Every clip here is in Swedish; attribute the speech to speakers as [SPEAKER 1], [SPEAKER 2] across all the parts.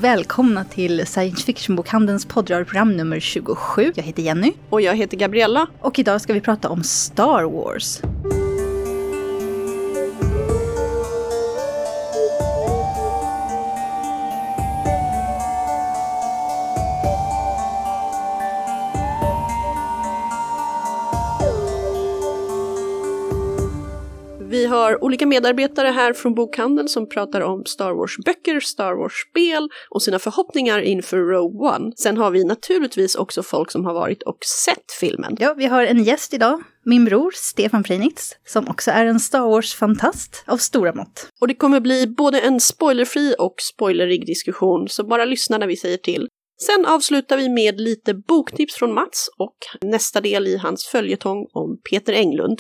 [SPEAKER 1] välkomna till Science Fiction-bokhandelns poddradioprogram nummer 27. Jag heter Jenny.
[SPEAKER 2] Och jag heter Gabriella.
[SPEAKER 1] Och idag ska vi prata om Star Wars.
[SPEAKER 2] Vi har olika medarbetare här från bokhandeln som pratar om Star Wars-böcker, Star Wars-spel och sina förhoppningar inför Rogue One. Sen har vi naturligtvis också folk som har varit och sett filmen.
[SPEAKER 1] Ja, vi har en gäst idag, min bror Stefan Freinitz, som också är en Star Wars-fantast av stora mått.
[SPEAKER 2] Och det kommer bli både en spoilerfri och spoilerig diskussion, så bara lyssna när vi säger till. Sen avslutar vi med lite boktips från Mats och nästa del i hans följetong om Peter Englund.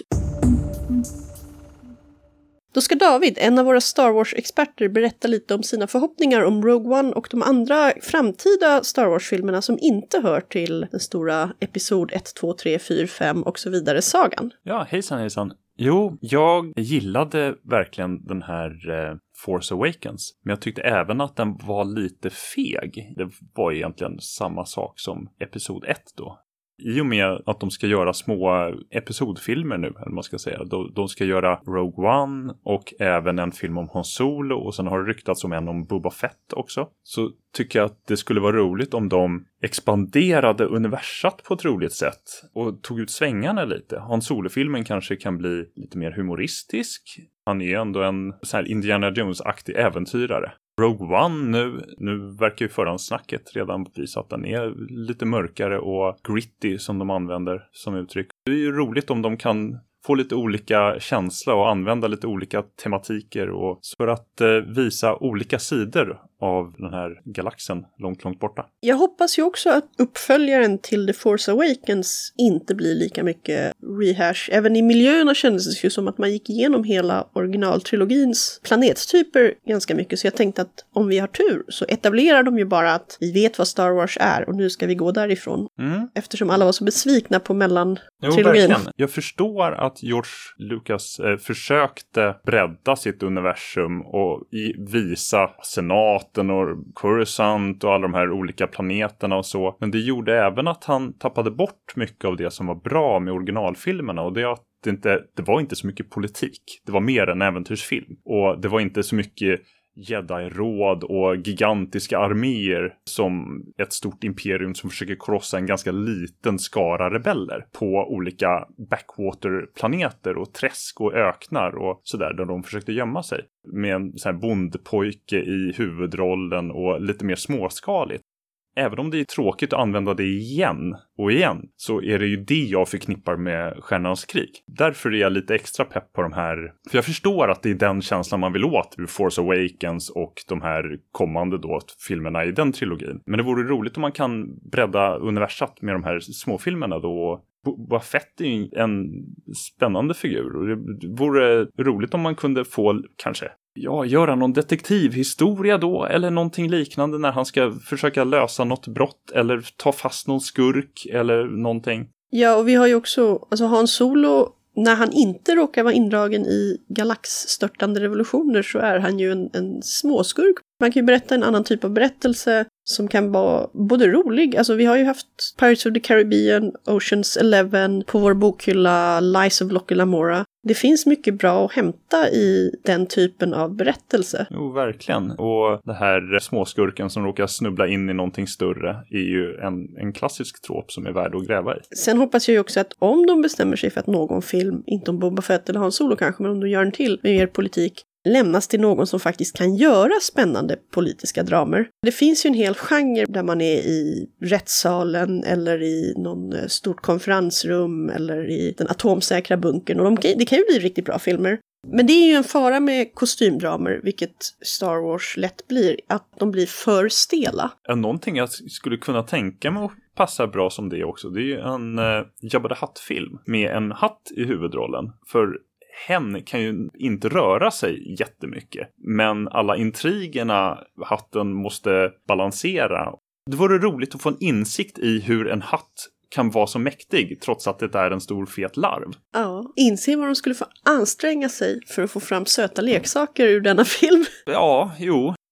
[SPEAKER 2] Då ska David, en av våra Star Wars-experter, berätta lite om sina förhoppningar om Rogue One och de andra framtida Star Wars-filmerna som inte hör till den stora episod 1, 2, 3, 4, 5 och så vidare sagan.
[SPEAKER 3] Ja, hejsan. Jo, jag gillade verkligen den här Force Awakens. Men jag tyckte även att den var lite feg. Det var egentligen samma sak som episod 1 då. I och med att de ska göra små episodfilmer nu, eller vad man ska säga. De ska göra Rogue One och även en film om Han Solo. Och sen har det ryktats om en om Boba Fett också. Så tycker jag att det skulle vara roligt om de expanderade universat på ett roligt sätt. Och tog ut svängarna lite. Han Solo-filmen kanske kan bli lite mer humoristisk. Han är ändå en så här Indiana Jones-aktig äventyrare. Rogue One nu verkar ju förhandsnacket redan visa att den är lite mörkare och gritty som de använder som uttryck. Det är ju roligt om de kan få lite olika känsla och använda lite olika tematiker och för att visa olika sidor av den här galaxen långt borta.
[SPEAKER 2] Jag hoppas ju också att uppföljaren till The Force Awakens inte blir lika mycket rehash. Även i miljöerna kändes det ju som att man gick igenom hela originaltrilogins planetstyper ganska mycket. Så jag tänkte att om vi har tur så etablerar de ju bara att vi vet vad Star Wars är och nu ska vi gå därifrån. Eftersom alla var så besvikna på mellantrilogin.
[SPEAKER 3] Jo, jag förstår att George Lucas försökte bredda sitt universum och visa Senaten och Coruscant och alla de här olika planeterna och så. Men det gjorde även att han tappade bort mycket av det som var bra med originalfilmerna. Och det är att det var inte så mycket politik. Det var mer en äventyrsfilm. Och det var inte så mycket Jedi-råd och gigantiska arméer som ett stort imperium som försöker krossa en ganska liten skara rebeller på olika backwater-planeter och träsk och öknar och sådär där de försökte gömma sig. Med en sån här bondpojke i huvudrollen och lite mer småskaligt. Även om det är tråkigt att använda det igen och igen så är det ju det jag förknippar med Stjärnornas krig. Därför är jag lite extra pepp på de här. För jag förstår att det är den känslan man vill åt ur Force Awakens och de här kommande då filmerna i den trilogin. Men det vore roligt om man kan bredda universat med de här småfilmerna då. Boba Fett är ju en spännande figur och det vore roligt om man kunde få kanske göra någon detektivhistoria då eller någonting liknande när han ska försöka lösa något brott eller ta fast någon skurk eller någonting.
[SPEAKER 2] Ja, och vi har ju också, alltså Han Solo, när han inte råkar vara indragen i galaxstörtande revolutioner så är han ju en småskurk. Man kan ju berätta en annan typ av berättelse som kan vara både rolig. Alltså vi har ju haft Pirates of the Caribbean, Oceans 11 på vår bokhylla, Lies of Locke Lamora. Det finns mycket bra att hämta i den typen av berättelse.
[SPEAKER 3] Jo, verkligen. Och det här småskurken som råkar snubbla in i någonting större är ju en klassisk trop som är värd att gräva i.
[SPEAKER 2] Sen hoppas jag ju också att om de bestämmer sig för att någon film, inte om Boba Fett eller Han Solo kanske, men om de gör en till med mer politik, lämnas till någon som faktiskt kan göra spännande politiska dramer. Det finns ju en hel genre där man är i rättssalen eller i någon stort konferensrum eller i den atomsäkra bunkern. Och det kan ju bli riktigt bra filmer. Men det är ju en fara med kostymdramer, vilket Star Wars lätt blir, att de blir för stela.
[SPEAKER 3] Någonting jag skulle kunna tänka mig att passa bra som det också, det är ju en Jabba the Hutt-film med en hatt i huvudrollen. För hen kan ju inte röra sig jättemycket. Men alla intrigerna hatten måste balansera. Det vore roligt att få en insikt i hur en hatt kan vara så mäktig trots att det är en stor fet larv.
[SPEAKER 2] Ja, inse vad de skulle få anstränga sig för att få fram söta leksaker ur denna film.
[SPEAKER 3] Ja, jo.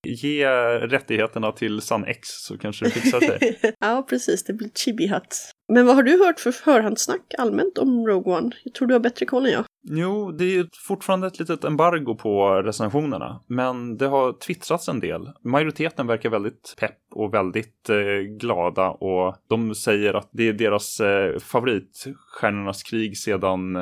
[SPEAKER 3] Ge rättigheterna till Sun X så kanske det fixar sig.
[SPEAKER 2] Ja, precis. Det blir Chibi Hut. Men vad har du hört för förhandssnack allmänt om Rogue One? Jag tror du har bättre koll än jag.
[SPEAKER 3] Jo, det är ju fortfarande ett litet embargo på recensionerna. Men det har twittrats en del. Majoriteten verkar väldigt pepp och väldigt glada. Och de säger att det är deras favorit, Stjärnornas krig, sedan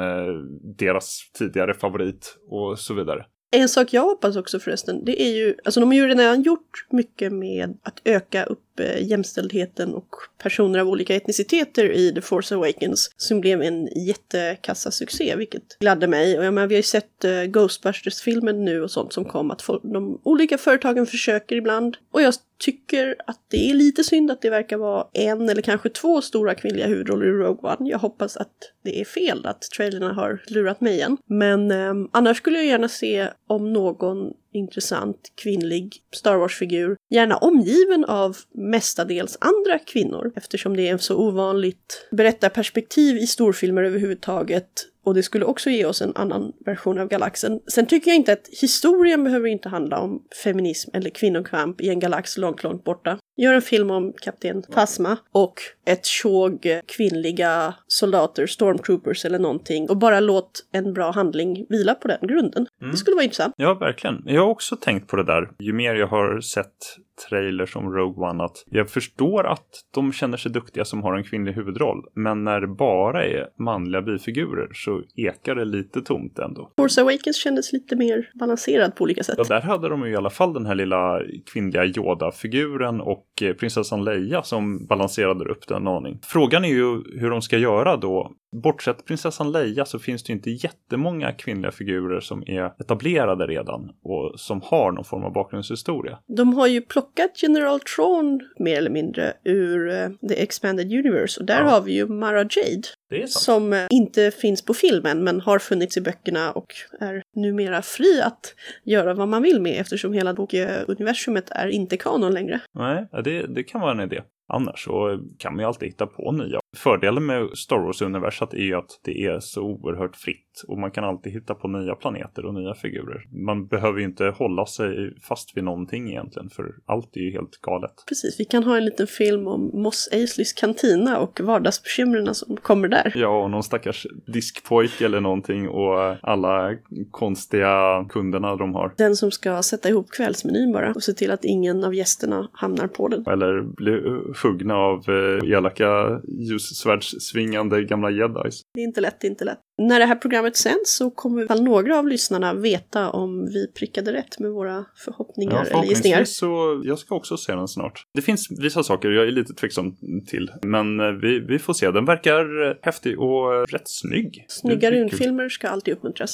[SPEAKER 3] deras tidigare favorit och så vidare.
[SPEAKER 2] En sak jag hoppas också förresten, det är ju, alltså de har ju redan gjort mycket med att öka upp jämställdheten och personer av olika etniciteter i The Force Awakens som blev en jättekassasuccé, vilket gladde mig. Och jag menar, vi har ju sett Ghostbusters-filmen nu och sånt som kom, att de olika företagen försöker ibland. Och jag tycker att det är lite synd att det verkar vara en eller kanske 2 stora kvinnliga huvudroller i Rogue One. Jag hoppas att det är fel, att trailerna har lurat mig igen. Men annars skulle jag gärna se om någon intressant kvinnlig Star Wars-figur, gärna omgiven av mestadels andra kvinnor, eftersom det är en så ovanligt berättarperspektiv i storfilmer överhuvudtaget. Och det skulle också ge oss en annan version av galaxen. Sen tycker jag inte att historien behöver inte handla om feminism eller kvinnokamp i en galax långt, långt borta. Gör en film om kapten Phasma och ett tjog kvinnliga soldater, stormtroopers eller någonting. Och bara låt en bra handling vila på den grunden. Det skulle vara intressant.
[SPEAKER 3] Ja, verkligen. Jag har också tänkt på det där. Ju mer jag har sett trailers om Rogue One, att jag förstår att de känner sig duktiga som har en kvinnlig huvudroll. Men när det bara är manliga bifigurer så ekar det lite tomt ändå.
[SPEAKER 2] Force Awakens kändes lite mer balanserad på olika sätt.
[SPEAKER 3] Ja, där hade de ju i alla fall den här lilla kvinnliga Yoda-figuren och prinsessan Leia som balanserade upp den aning. Frågan är ju hur de ska göra då. Bortsett prinsessan Leia så finns det ju inte jättemånga kvinnliga figurer som är etablerade redan och som har någon form av bakgrundshistoria.
[SPEAKER 2] De har ju plockat General Thrawn mer eller mindre ur The Expanded Universe och där har vi ju Mara Jade.
[SPEAKER 3] Det är sant.
[SPEAKER 2] Som inte finns på filmen men har funnits i böckerna och är numera fri att göra vad man vill med eftersom hela bokuniversumet är inte kanon längre.
[SPEAKER 3] Nej, det kan vara en idé. Annars så kan man ju alltid hitta på nya. Fördelen med Star Wars-universat är ju att det är så oerhört fritt. Och man kan alltid hitta på nya planeter och nya figurer. Man behöver ju inte hålla sig fast vid någonting egentligen. För allt är ju helt galet.
[SPEAKER 2] Precis, vi kan ha en liten film om Mos Eisleys kantina och vardagsbekymren som kommer där.
[SPEAKER 3] Ja, och någon stackars diskpojk eller någonting. Och alla konstiga kunderna de har.
[SPEAKER 2] Den som ska sätta ihop kvällsmenyn bara. Och se till att ingen av gästerna hamnar på den.
[SPEAKER 3] Eller bli huggna av elaka ljussvärdssvingande gamla jedis.
[SPEAKER 2] Det är inte lätt, det är inte lätt. När det här programmet sänds så kommer väl några av lyssnarna veta om vi prickade rätt med våra förhoppningar eller gissningar.
[SPEAKER 3] Så jag ska också se den snart. Det finns vissa saker jag är lite tveksam till. Men vi får se. Den verkar häftig och rätt snygg.
[SPEAKER 2] Snygga rymdfilmer ska alltid uppmuntras.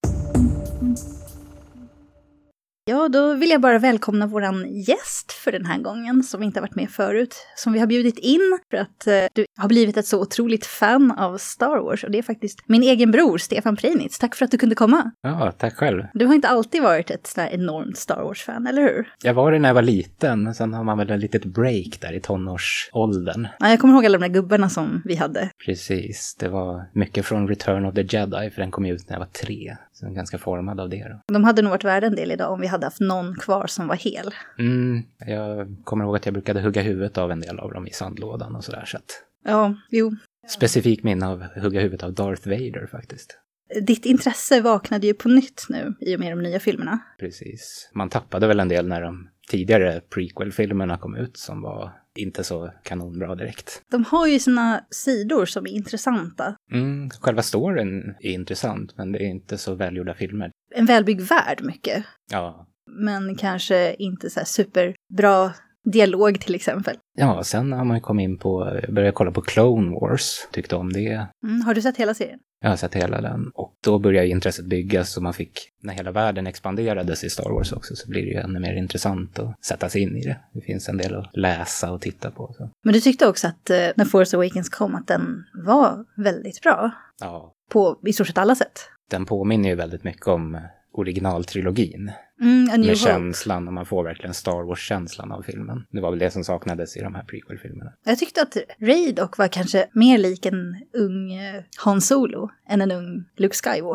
[SPEAKER 1] Ja, då vill jag bara välkomna våran gäst för den här gången som inte har varit med förut. Som vi har bjudit in för att du har blivit ett så otroligt fan av Star Wars. Och det är faktiskt min egen bror, Stefan Preinitz. Tack för att du kunde komma.
[SPEAKER 4] Ja, tack själv.
[SPEAKER 1] Du har inte alltid varit ett sådär enormt Star Wars-fan, eller hur?
[SPEAKER 4] Jag var det när jag var liten. Sen har man väl ett litet break där i tonårsåldern.
[SPEAKER 1] Ja, jag kommer ihåg alla de där gubbarna som vi hade.
[SPEAKER 4] Precis, det var mycket från Return of the Jedi. För den kom ut när jag var 3. Så jag är ganska formad av det då.
[SPEAKER 1] De hade nog varit värda en del idag om vi hade haft någon kvar som var hel.
[SPEAKER 4] Jag kommer ihåg att jag brukade hugga huvudet av en del av dem i sandlådan och sådär. Så att...
[SPEAKER 1] Ja, jo.
[SPEAKER 4] Specifikt minne av hugga huvudet av Darth Vader faktiskt.
[SPEAKER 1] Ditt intresse vaknade ju på nytt nu i och med de nya filmerna.
[SPEAKER 4] Precis. Man tappade väl en del när de tidigare prequel-filmerna kom ut som var inte så kanonbra direkt.
[SPEAKER 1] De har ju sina sidor som är intressanta.
[SPEAKER 4] Själva storyn är intressant men det är inte så välgjorda filmer.
[SPEAKER 1] En välbyggd värld mycket.
[SPEAKER 4] Ja.
[SPEAKER 1] Men kanske inte så här superbra dialog till exempel.
[SPEAKER 4] Ja, sen har man ju kommit in på, började kolla på Clone Wars, tyckte om det.
[SPEAKER 1] Har du sett hela serien?
[SPEAKER 4] Jag har sett hela den. Och då började intresset byggas och man fick, när hela världen expanderades i Star Wars också så blir det ju ännu mer intressant att sätta sig in i det. Det finns en del att läsa och titta på. Så.
[SPEAKER 1] Men du tyckte också att när Force Awakens kom att den var väldigt bra?
[SPEAKER 4] Ja.
[SPEAKER 1] På i stort sett alla sätt.
[SPEAKER 4] Den påminner ju väldigt mycket om originaltrilogin. Med känslan, och man får verkligen Star Wars-känslan av filmen. Det var väl det som saknades i de här prequel-filmerna. Jag
[SPEAKER 1] tyckte att Rey dock var kanske mer lik en ung Han Solo än en ung Luke Skywalker.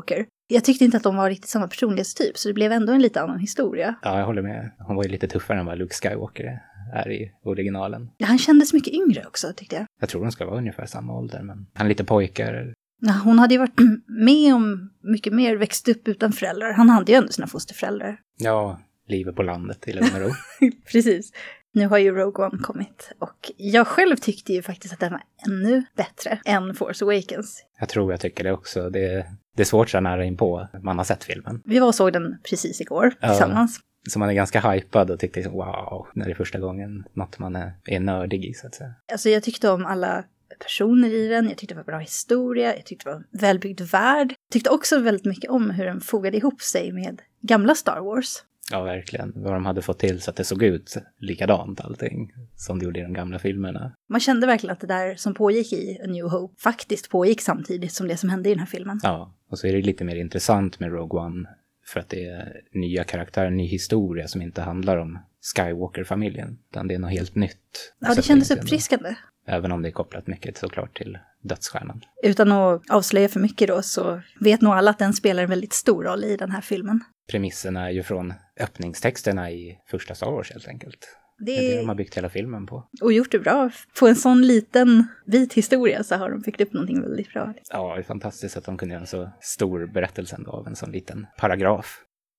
[SPEAKER 1] Jag tyckte inte att de var riktigt samma personlighetstyp, så det blev ändå en lite annan historia.
[SPEAKER 4] Ja, jag håller med. Hon var ju lite tuffare än vad Luke Skywalker är i originalen.
[SPEAKER 1] Ja, han kändes mycket yngre också, tyckte jag.
[SPEAKER 4] Jag tror de ska vara ungefär samma ålder, men han är lite pojkar.
[SPEAKER 1] Ja, hon hade ju varit med om mycket mer, växt upp utan föräldrar. Han hade ju ändå sina fosterföräldrar.
[SPEAKER 4] Ja, livet på landet i lugn och ro.
[SPEAKER 1] Precis. Nu har ju Rogue One kommit och jag själv tyckte ju faktiskt att den var ännu bättre än Force Awakens.
[SPEAKER 4] Jag tycker det också. Det är svårt så nära in på. Man har sett filmen.
[SPEAKER 1] Vi var och såg den precis igår tillsammans.
[SPEAKER 4] Så man är ganska hypad och tyckte wow, när det är första gången något man är nördig i så att säga.
[SPEAKER 1] Alltså jag tyckte om alla personer i den, jag tyckte det var bra historia, jag tyckte det var en välbyggd värld. Jag tyckte också väldigt mycket om hur den fogade ihop sig med gamla Star Wars.
[SPEAKER 4] Ja, verkligen. Vad de hade fått till så att det såg ut likadant allting som det gjorde i de gamla filmerna.
[SPEAKER 1] Man kände verkligen att det där som pågick i A New Hope faktiskt pågick samtidigt som det som hände i den här filmen.
[SPEAKER 4] Ja, och så är det lite mer intressant med Rogue One för att det är nya karaktärer, ny historia som inte handlar om Skywalker-familjen, utan det är något helt nytt.
[SPEAKER 1] Ja, det kändes uppfriskande.
[SPEAKER 4] Även om det är kopplat mycket såklart till dödsstjärnan.
[SPEAKER 1] Utan att avslöja för mycket då så vet nog alla att den spelar en väldigt stor roll i den här filmen.
[SPEAKER 4] Premisserna är ju från öppningstexterna i första Star Wars helt enkelt. Det är det de har byggt hela filmen på.
[SPEAKER 1] Och gjort det bra. På en sån liten vit historia så har de byggt upp någonting väldigt bra.
[SPEAKER 4] Ja, det är fantastiskt att de kunde göra en så stor berättelse av en sån liten paragraf.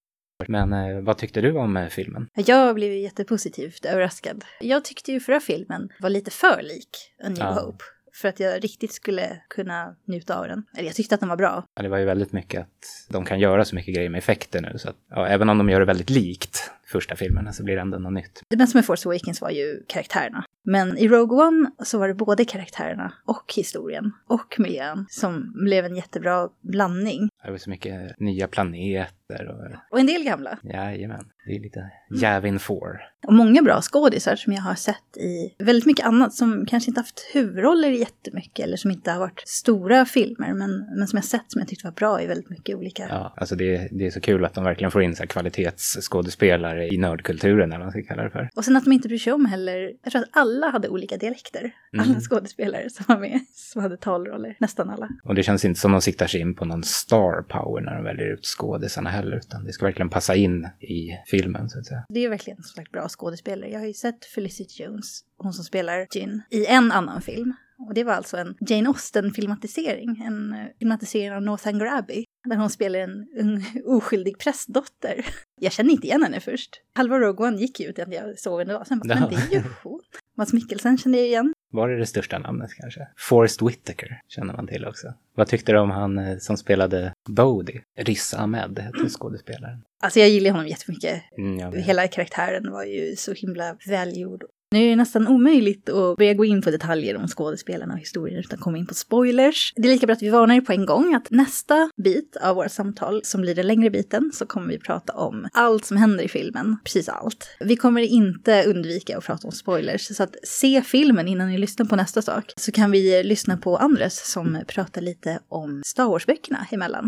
[SPEAKER 4] Men vad tyckte du om filmen?
[SPEAKER 1] Jag blev jättepositivt överraskad. Jag tyckte ju förra filmen var lite för lik A New Hope. För att jag riktigt skulle kunna njuta av den. Eller jag tyckte att den var bra.
[SPEAKER 4] Ja, det var ju väldigt mycket att de kan göra så mycket grejer med effekter nu. Så att, ja, även om de gör det väldigt likt första filmerna så blir det ändå något nytt.
[SPEAKER 1] Det bästa med Force Awakens var ju karaktärerna. Men i Rogue One så var det både karaktärerna och historien och miljön som blev en jättebra blandning.
[SPEAKER 4] Det var så mycket nya planeter.
[SPEAKER 1] Och en del gamla.
[SPEAKER 4] Jajamän, det är lite Yavin 4.
[SPEAKER 1] Och många bra skådisar som jag har sett i väldigt mycket annat som kanske inte haft huvudroller jättemycket eller som inte har varit stora filmer men som jag sett som jag tyckte var bra i väldigt mycket olika.
[SPEAKER 4] Ja, alltså det är så kul att de verkligen får in så här kvalitetsskådespelare i nördkulturen eller vad man ska kalla det för.
[SPEAKER 1] Och sen att de inte bryr sig om heller. Jag tror att alla hade olika dialekter. Alla skådespelare som var med som hade talroller. Nästan alla.
[SPEAKER 4] Och det känns inte som de siktar sig in på någon star power när de väljer ut skådisarna heller utan det ska verkligen passa in i filmen så att säga.
[SPEAKER 1] Det är verkligen som sagt bra skådespelare. Jag har ju sett Felicity Jones, hon som spelar Jyn, i en annan film. Och det var alltså en Jane Austen-filmatisering. En filmatisering av Northanger Abbey. Där hon spelar en oskyldig prästdotter. Jag kände inte igen henne först. Halva Rogue One gick ut att jag såg henne då. Sen bara, men det är ju hon. Mads Mikkelsen kände jag igen.
[SPEAKER 4] Var det största namnet kanske? Forrest Whitaker känner man till också. Vad tyckte du om han som spelade Bodhi? Riz Ahmed hette skådespelaren.
[SPEAKER 1] Alltså jag gillar honom jättemycket.
[SPEAKER 4] Ja,
[SPEAKER 1] hela karaktären var ju så himla välgjord. Nu är det nästan omöjligt att börja gå in på detaljer om skådespelarna och historien utan komma in på spoilers. Det är lika bra att vi varnar er på en gång att nästa bit av vårt samtal, som blir den längre biten, så kommer vi prata om allt som händer i filmen. Precis allt. Vi kommer inte undvika att prata om spoilers, så att se filmen innan ni lyssnar på nästa sak. Så kan vi lyssna på Andres som pratar lite om Star Wars-böckerna emellan.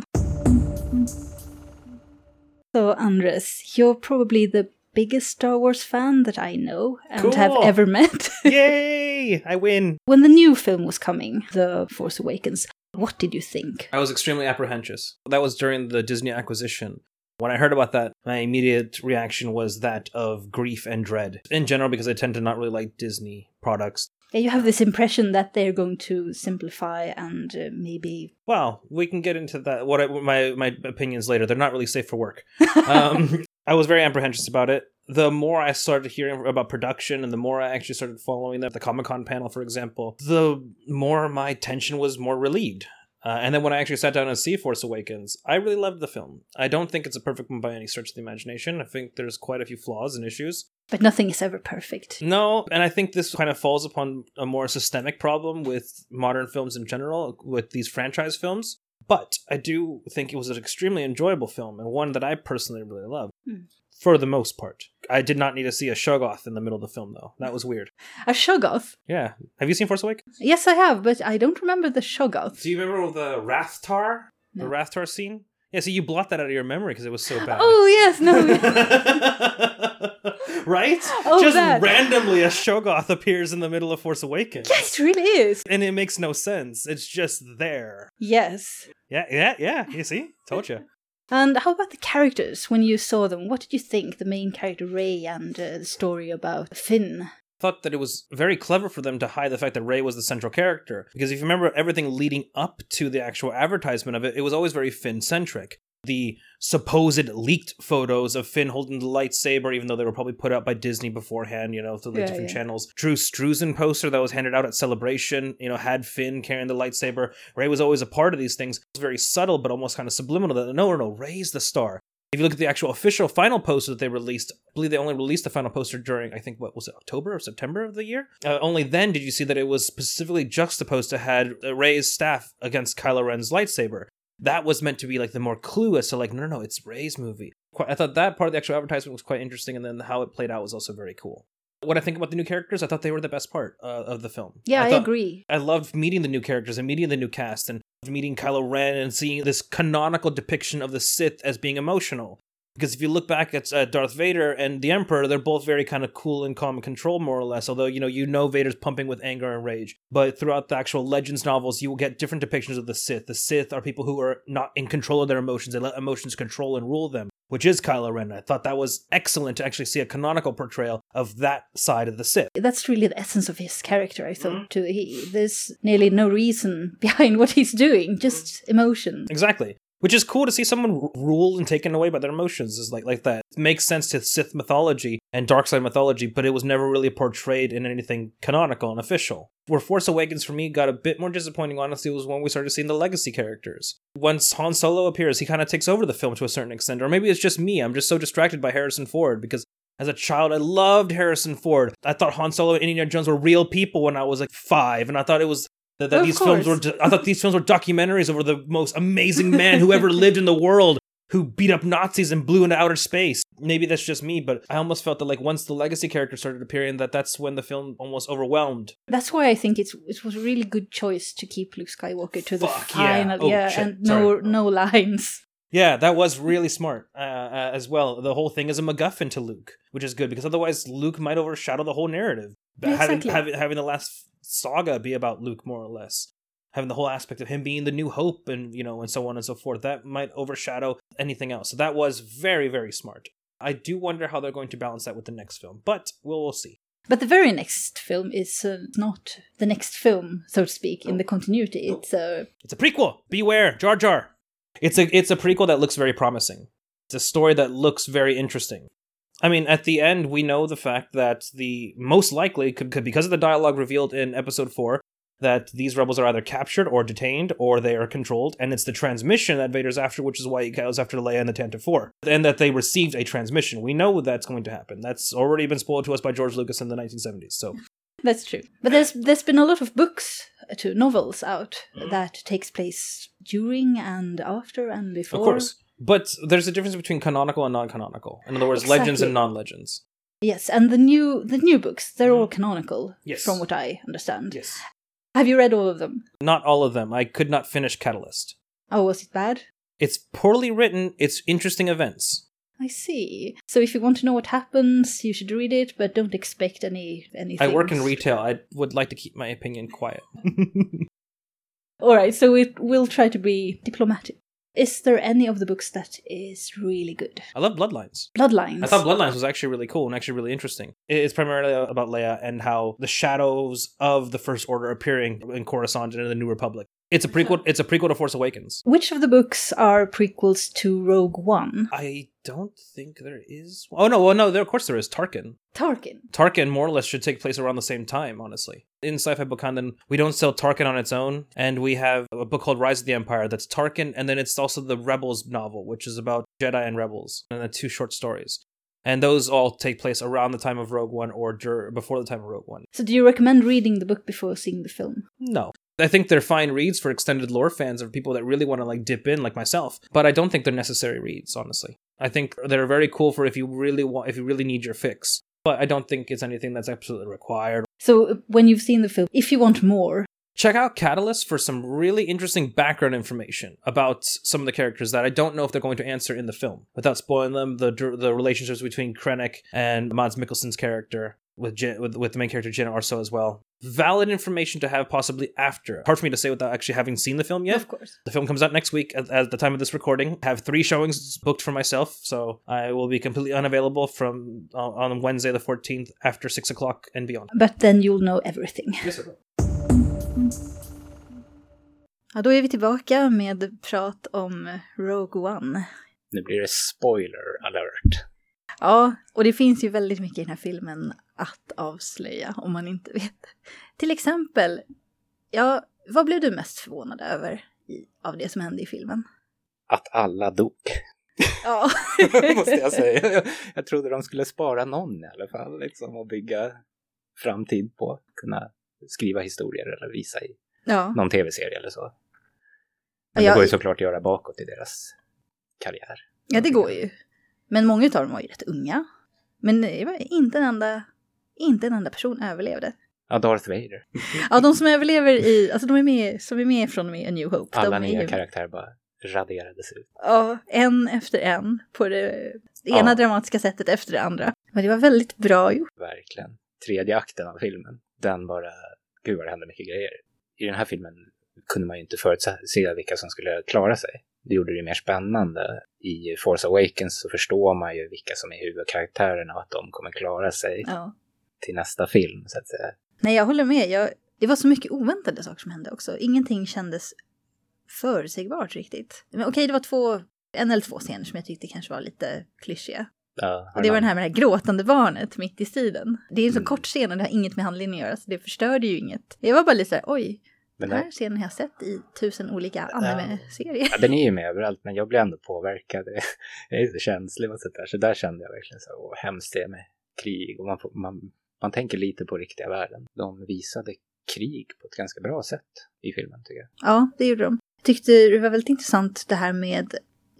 [SPEAKER 1] So Andres, you're probably the biggest Star Wars fan that I know and have ever met.
[SPEAKER 5] Yay! I win!
[SPEAKER 1] When the new film was coming, The Force Awakens, what did you think?
[SPEAKER 5] I was extremely apprehensive. That was during the Disney acquisition. When I heard about that, my immediate reaction was that of grief and dread. In general, because I tend to not really like Disney products.
[SPEAKER 1] Yeah, you have this impression that they're going to simplify and maybe...
[SPEAKER 5] Well, we can get into that. My opinions later. They're not really safe for work. I was very apprehensive about it. The more I started hearing about production and the more I actually started following the Comic-Con panel, for example, the more my tension was more relieved. And then when I actually sat down and see Force Awakens, I really loved the film. I don't think it's a perfect one by any stretch of the imagination. I think there's quite a few flaws and issues.
[SPEAKER 1] But nothing is ever perfect.
[SPEAKER 5] No, and I think this kind of falls upon a more systemic problem with modern films in general, with these franchise films. But I do think it was an extremely enjoyable film, and one that I personally really love. For the most part. I did not need to see a Shoggoth in the middle of the film, though. That was weird.
[SPEAKER 1] A Shoggoth?
[SPEAKER 5] Yeah. Have you seen Force Awakens?
[SPEAKER 1] Yes, I have, but I don't remember the Shoggoth.
[SPEAKER 5] Do you remember the Rathtar?
[SPEAKER 1] No.
[SPEAKER 5] The Rathtar scene? Yeah, so you blot that out of your memory because it was so bad.
[SPEAKER 1] Oh, yes, no.
[SPEAKER 5] Right?
[SPEAKER 1] Oh,
[SPEAKER 5] Just
[SPEAKER 1] that.
[SPEAKER 5] randomly a Shoggoth appears in the middle of Force Awakens.
[SPEAKER 1] Yeah, it really is.
[SPEAKER 5] And it makes no sense. It's just there.
[SPEAKER 1] Yes.
[SPEAKER 5] Yeah. You see? Told you.
[SPEAKER 1] And how about the characters when you saw them? What did you think? The main character, Rey, and the story about Finn.
[SPEAKER 5] Thought that it was very clever for them to hide the fact that Rey was the central character. Because if you remember everything leading up to the actual advertisement of it, it was always very Finn-centric. The supposed leaked photos of Finn holding the lightsaber, even though they were probably put out by Disney beforehand, through the different channels. Drew Struzan poster that was handed out at Celebration, had Finn carrying the lightsaber. Rey was always a part of these things. It was very subtle, but almost kind of subliminal. That no, Rey's the star. If you look at the actual official final poster that they released, I believe they only released the final poster during, I think, October or September of the year? Only then did you see that it was specifically juxtaposed to had Rey's staff against Kylo Ren's lightsaber. That was meant to be like the more clue as to like, no, it's Rey's movie. I thought that part of the actual advertisement was quite interesting, and then how it played out was also very cool. What I think about the new characters, I thought they were the best part of the film.
[SPEAKER 1] Yeah, I agree.
[SPEAKER 5] I loved meeting the new characters and meeting the new cast and meeting Kylo Ren and seeing this canonical depiction of the Sith as being emotional. Because if you look back at Darth Vader and the Emperor, they're both very kind of cool and calm and controlled, more or less. Although, you know Vader's pumping with anger and rage. But throughout the actual Legends novels, you will get different depictions of the Sith. The Sith are people who are not in control of their emotions. They let emotions control and rule them, which is Kylo Ren. I thought that was excellent to actually see a canonical portrayal of that side of the Sith.
[SPEAKER 1] That's really the essence of his character, I thought, too. There's nearly no reason behind what he's doing, just emotion.
[SPEAKER 5] Exactly. Which is cool to see someone ruled and taken away by their emotions, is like that. It makes sense to Sith mythology and Darkside mythology, but it was never really portrayed in anything canonical and official. Where Force Awakens for me got a bit more disappointing, honestly, was when we started seeing the legacy characters. Once Han Solo appears, he kind of takes over the film to a certain extent, or maybe it's just me. I'm just so distracted by Harrison Ford, because as a child, I loved Harrison Ford. I thought Han Solo and Indiana Jones were real people when I was like 5, and I thought it was I thought these films were documentaries over the most amazing man who ever lived in the world, who beat up Nazis and blew into outer space. Maybe that's just me, but I almost felt that like once the legacy characters started appearing, that's when the film almost overwhelmed.
[SPEAKER 1] That's why I think it was a really good choice to keep Luke Skywalker to the final, and no lines.
[SPEAKER 5] Yeah, that was really smart as well. The whole thing is a MacGuffin to Luke, which is good, because otherwise Luke might overshadow the whole narrative.
[SPEAKER 1] Exactly.
[SPEAKER 5] Having the last saga be about Luke, more or less. Having the whole aspect of him being the new hope and, and so on and so forth. That might overshadow anything else. So that was very, very smart. I do wonder how they're going to balance that with the next film, but we'll see.
[SPEAKER 1] But the very next film is not the next film, so to speak, in the continuity. It's a
[SPEAKER 5] prequel. Beware, Jar Jar. It's a prequel that looks very promising. It's a story that looks very interesting. I mean, at the end, we know the fact that the most likely, could because of the dialogue revealed in episode 4, that these rebels are either captured or detained, or they are controlled, and it's the transmission that Vader's after, which is why he goes after Leia and the Tantive 4, and that they received a transmission. We know that's going to happen. That's already been spoiled to us by George Lucas in the 1970s, so...
[SPEAKER 1] That's true. But there's been a lot of books, novels out that takes place during and after and before.
[SPEAKER 5] Of course. But there's a difference between canonical and non-canonical. In other words,
[SPEAKER 1] Exactly.
[SPEAKER 5] legends and non-legends.
[SPEAKER 1] Yes, and the new books, they're all canonical,
[SPEAKER 5] Yes.
[SPEAKER 1] from what I understand.
[SPEAKER 5] Yes.
[SPEAKER 1] Have you read all of them?
[SPEAKER 5] Not all of them. I could not finish Catalyst.
[SPEAKER 1] Oh, was it bad?
[SPEAKER 5] It's poorly written. It's interesting events.
[SPEAKER 1] I see. So if you want to know what happens, you should read it, but don't expect anything.
[SPEAKER 5] I work in retail. I would like to keep my opinion quiet.
[SPEAKER 1] Alright, so we'll try to be diplomatic. Is there any of the books that is really good?
[SPEAKER 5] I love Bloodlines.
[SPEAKER 1] Bloodlines.
[SPEAKER 5] I thought Bloodlines was actually really cool and actually really interesting. It's primarily about Leia and how the shadows of the First Order appearing in Coruscant and in the New Republic. It's a prequel. It's a prequel to Force Awakens.
[SPEAKER 1] Which of the books are prequels to Rogue One?
[SPEAKER 5] I don't think there is. Oh no! Well, no. Of course there is. Tarkin. Tarkin more or less should take place around the same time. Honestly, in Sci-Fi Book Canon, we don't sell Tarkin on its own, and we have a book called Rise of the Empire that's Tarkin, and then it's also the Rebels novel, which is about Jedi and Rebels, and the 2 short stories. And those all take place around the time of Rogue One or before the time of Rogue One.
[SPEAKER 1] So do you recommend reading the book before seeing the film?
[SPEAKER 5] No. I think they're fine reads for extended lore fans or people that really want to like dip in like myself, but I don't think they're necessary reads, honestly. I think they're very cool for if you really need your fix, but I don't think it's anything that's absolutely required.
[SPEAKER 1] So when you've seen the film, if you want more,
[SPEAKER 5] check out Catalyst for some really interesting background information about some of the characters that I don't know if they're going to answer in the film. Without spoiling them, the relationships between Krennic and Mads Mikkelsen's character with the main character Jenna Orso as well. Valid information to have possibly after. Hard for me to say without actually having seen the film yet.
[SPEAKER 1] Of course.
[SPEAKER 5] The film comes out next week at the time of this recording. I have 3 showings booked for myself, so I will be completely unavailable from on Wednesday the 14th after 6 o'clock and beyond.
[SPEAKER 1] But then you'll know everything.
[SPEAKER 5] Yes, sir.
[SPEAKER 1] Ja, då är vi tillbaka med prat om Rogue One.
[SPEAKER 4] Nu blir det spoiler alert.
[SPEAKER 1] Ja, och det finns ju väldigt mycket i den här filmen att avslöja om man inte vet. Till exempel, ja, vad blev du mest förvånad över av det som hände i filmen?
[SPEAKER 4] Att alla dog.
[SPEAKER 1] Ja.
[SPEAKER 4] Måste jag säga. Jag trodde de skulle spara någon i alla fall. Liksom, och bygga framtid på. Kunna skriva historier eller visa i någon tv-serie eller så. Men det går ju såklart att göra bakåt i deras karriär.
[SPEAKER 1] Ja, det går ju. Men många av dem var ju rätt unga. Men inte en enda person överlevde.
[SPEAKER 4] Ja, Darth Vader.
[SPEAKER 1] Ja, de som överlever alltså de är med från och med A New Hope.
[SPEAKER 4] Alla nya karaktärer bara raderades ut.
[SPEAKER 1] Ja, en efter en på det ena dramatiska sättet efter det andra. Men det var väldigt bra gjort.
[SPEAKER 4] Verkligen. 3:e akten av filmen, den bara, gud vad det hände mycket grejer. I den här filmen kunde man ju inte förutse vilka som skulle klara sig. Det gjorde det mer spännande. I Force Awakens så förstår man ju vilka som är huvudkaraktärerna och att de kommer klara sig till nästa film, så att säga.
[SPEAKER 1] Nej, jag håller med. Det var så mycket oväntade saker som hände också. Ingenting kändes förutsägbart riktigt. Men okej, det var en eller två scener som jag tyckte kanske var lite klyschiga.
[SPEAKER 4] Ja,
[SPEAKER 1] och det var den här med det här gråtande barnet mitt i striden. Det är en så kort scen och det har inget med handlingen att göra, så det förstörde ju inget. Jag var bara lite såhär, oj, den här scenen har jag sett i 1000 olika anime-serier.
[SPEAKER 4] Ja, den är ju med överallt, men jag blir ändå påverkad. Jag är så känslig och sådär. Så där kände jag verkligen så, hemskt det med krig. Och man tänker lite på riktiga världen. De visade krig på ett ganska bra sätt i filmen, tycker jag.
[SPEAKER 1] Ja, det gjorde de. Jag tyckte det var väldigt intressant det här med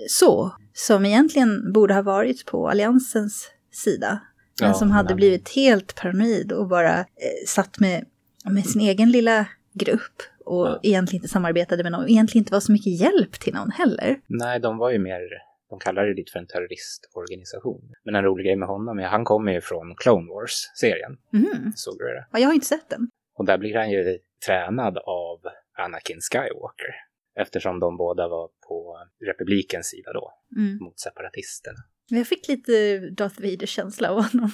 [SPEAKER 1] som egentligen borde ha varit på alliansens sida. Men som hade blivit helt paranoid och bara satt med sin egen lilla grupp och egentligen inte samarbetade med någon. Och egentligen inte var så mycket hjälp till någon heller.
[SPEAKER 4] Nej, de var ju mer, de kallade det lite för en terroristorganisation. Men en rolig grej med honom är, han kommer ju från Clone Wars-serien. Såg du det?
[SPEAKER 1] Ja, jag har inte sett den.
[SPEAKER 4] Och där blir han ju tränad av Anakin Skywalker. Eftersom de båda var på republikens sida då, mot separatisterna. Men
[SPEAKER 1] jag fick lite Darth Vader-känsla av honom.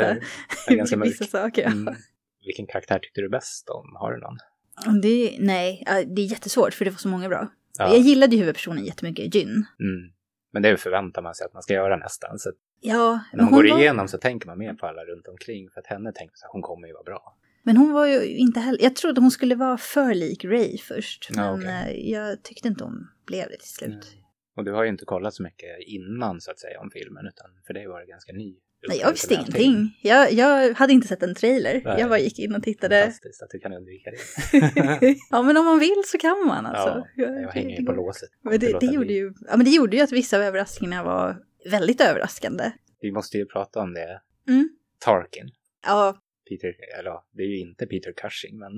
[SPEAKER 1] Vissa saker. Ja.
[SPEAKER 4] Vilken karaktär tyckte du bäst om? Har du någon?
[SPEAKER 1] Det är jättesvårt för det var så många bra. Ja. Jag gillade ju huvudpersonen jättemycket, Jyn.
[SPEAKER 4] Men det förväntar man sig att man ska göra nästan. Så när man går igenom så tänker man mer på alla runt omkring. För att henne tänkte att hon kommer ju vara bra.
[SPEAKER 1] Men hon var ju inte heller... Jag trodde hon skulle vara för lik Rey först. Men jag tyckte inte hon blev det till slut.
[SPEAKER 4] Och du har ju inte kollat så mycket innan så att säga om filmen. Utan för dig var det ganska ny.
[SPEAKER 1] Nej, jag visste ingenting. Jag hade inte sett en trailer. Nej. Jag bara gick in och tittade.
[SPEAKER 4] Fantastiskt att du kan undvika det.
[SPEAKER 1] Ja, men om man vill så kan man alltså.
[SPEAKER 4] Ja, jag hänger ju på låset.
[SPEAKER 1] Men det gjorde ju att vissa av överraskningarna var väldigt överraskande.
[SPEAKER 4] Vi måste ju prata om det. Tarkin.
[SPEAKER 1] Ja.
[SPEAKER 4] Det är ju inte Peter Cushing, men...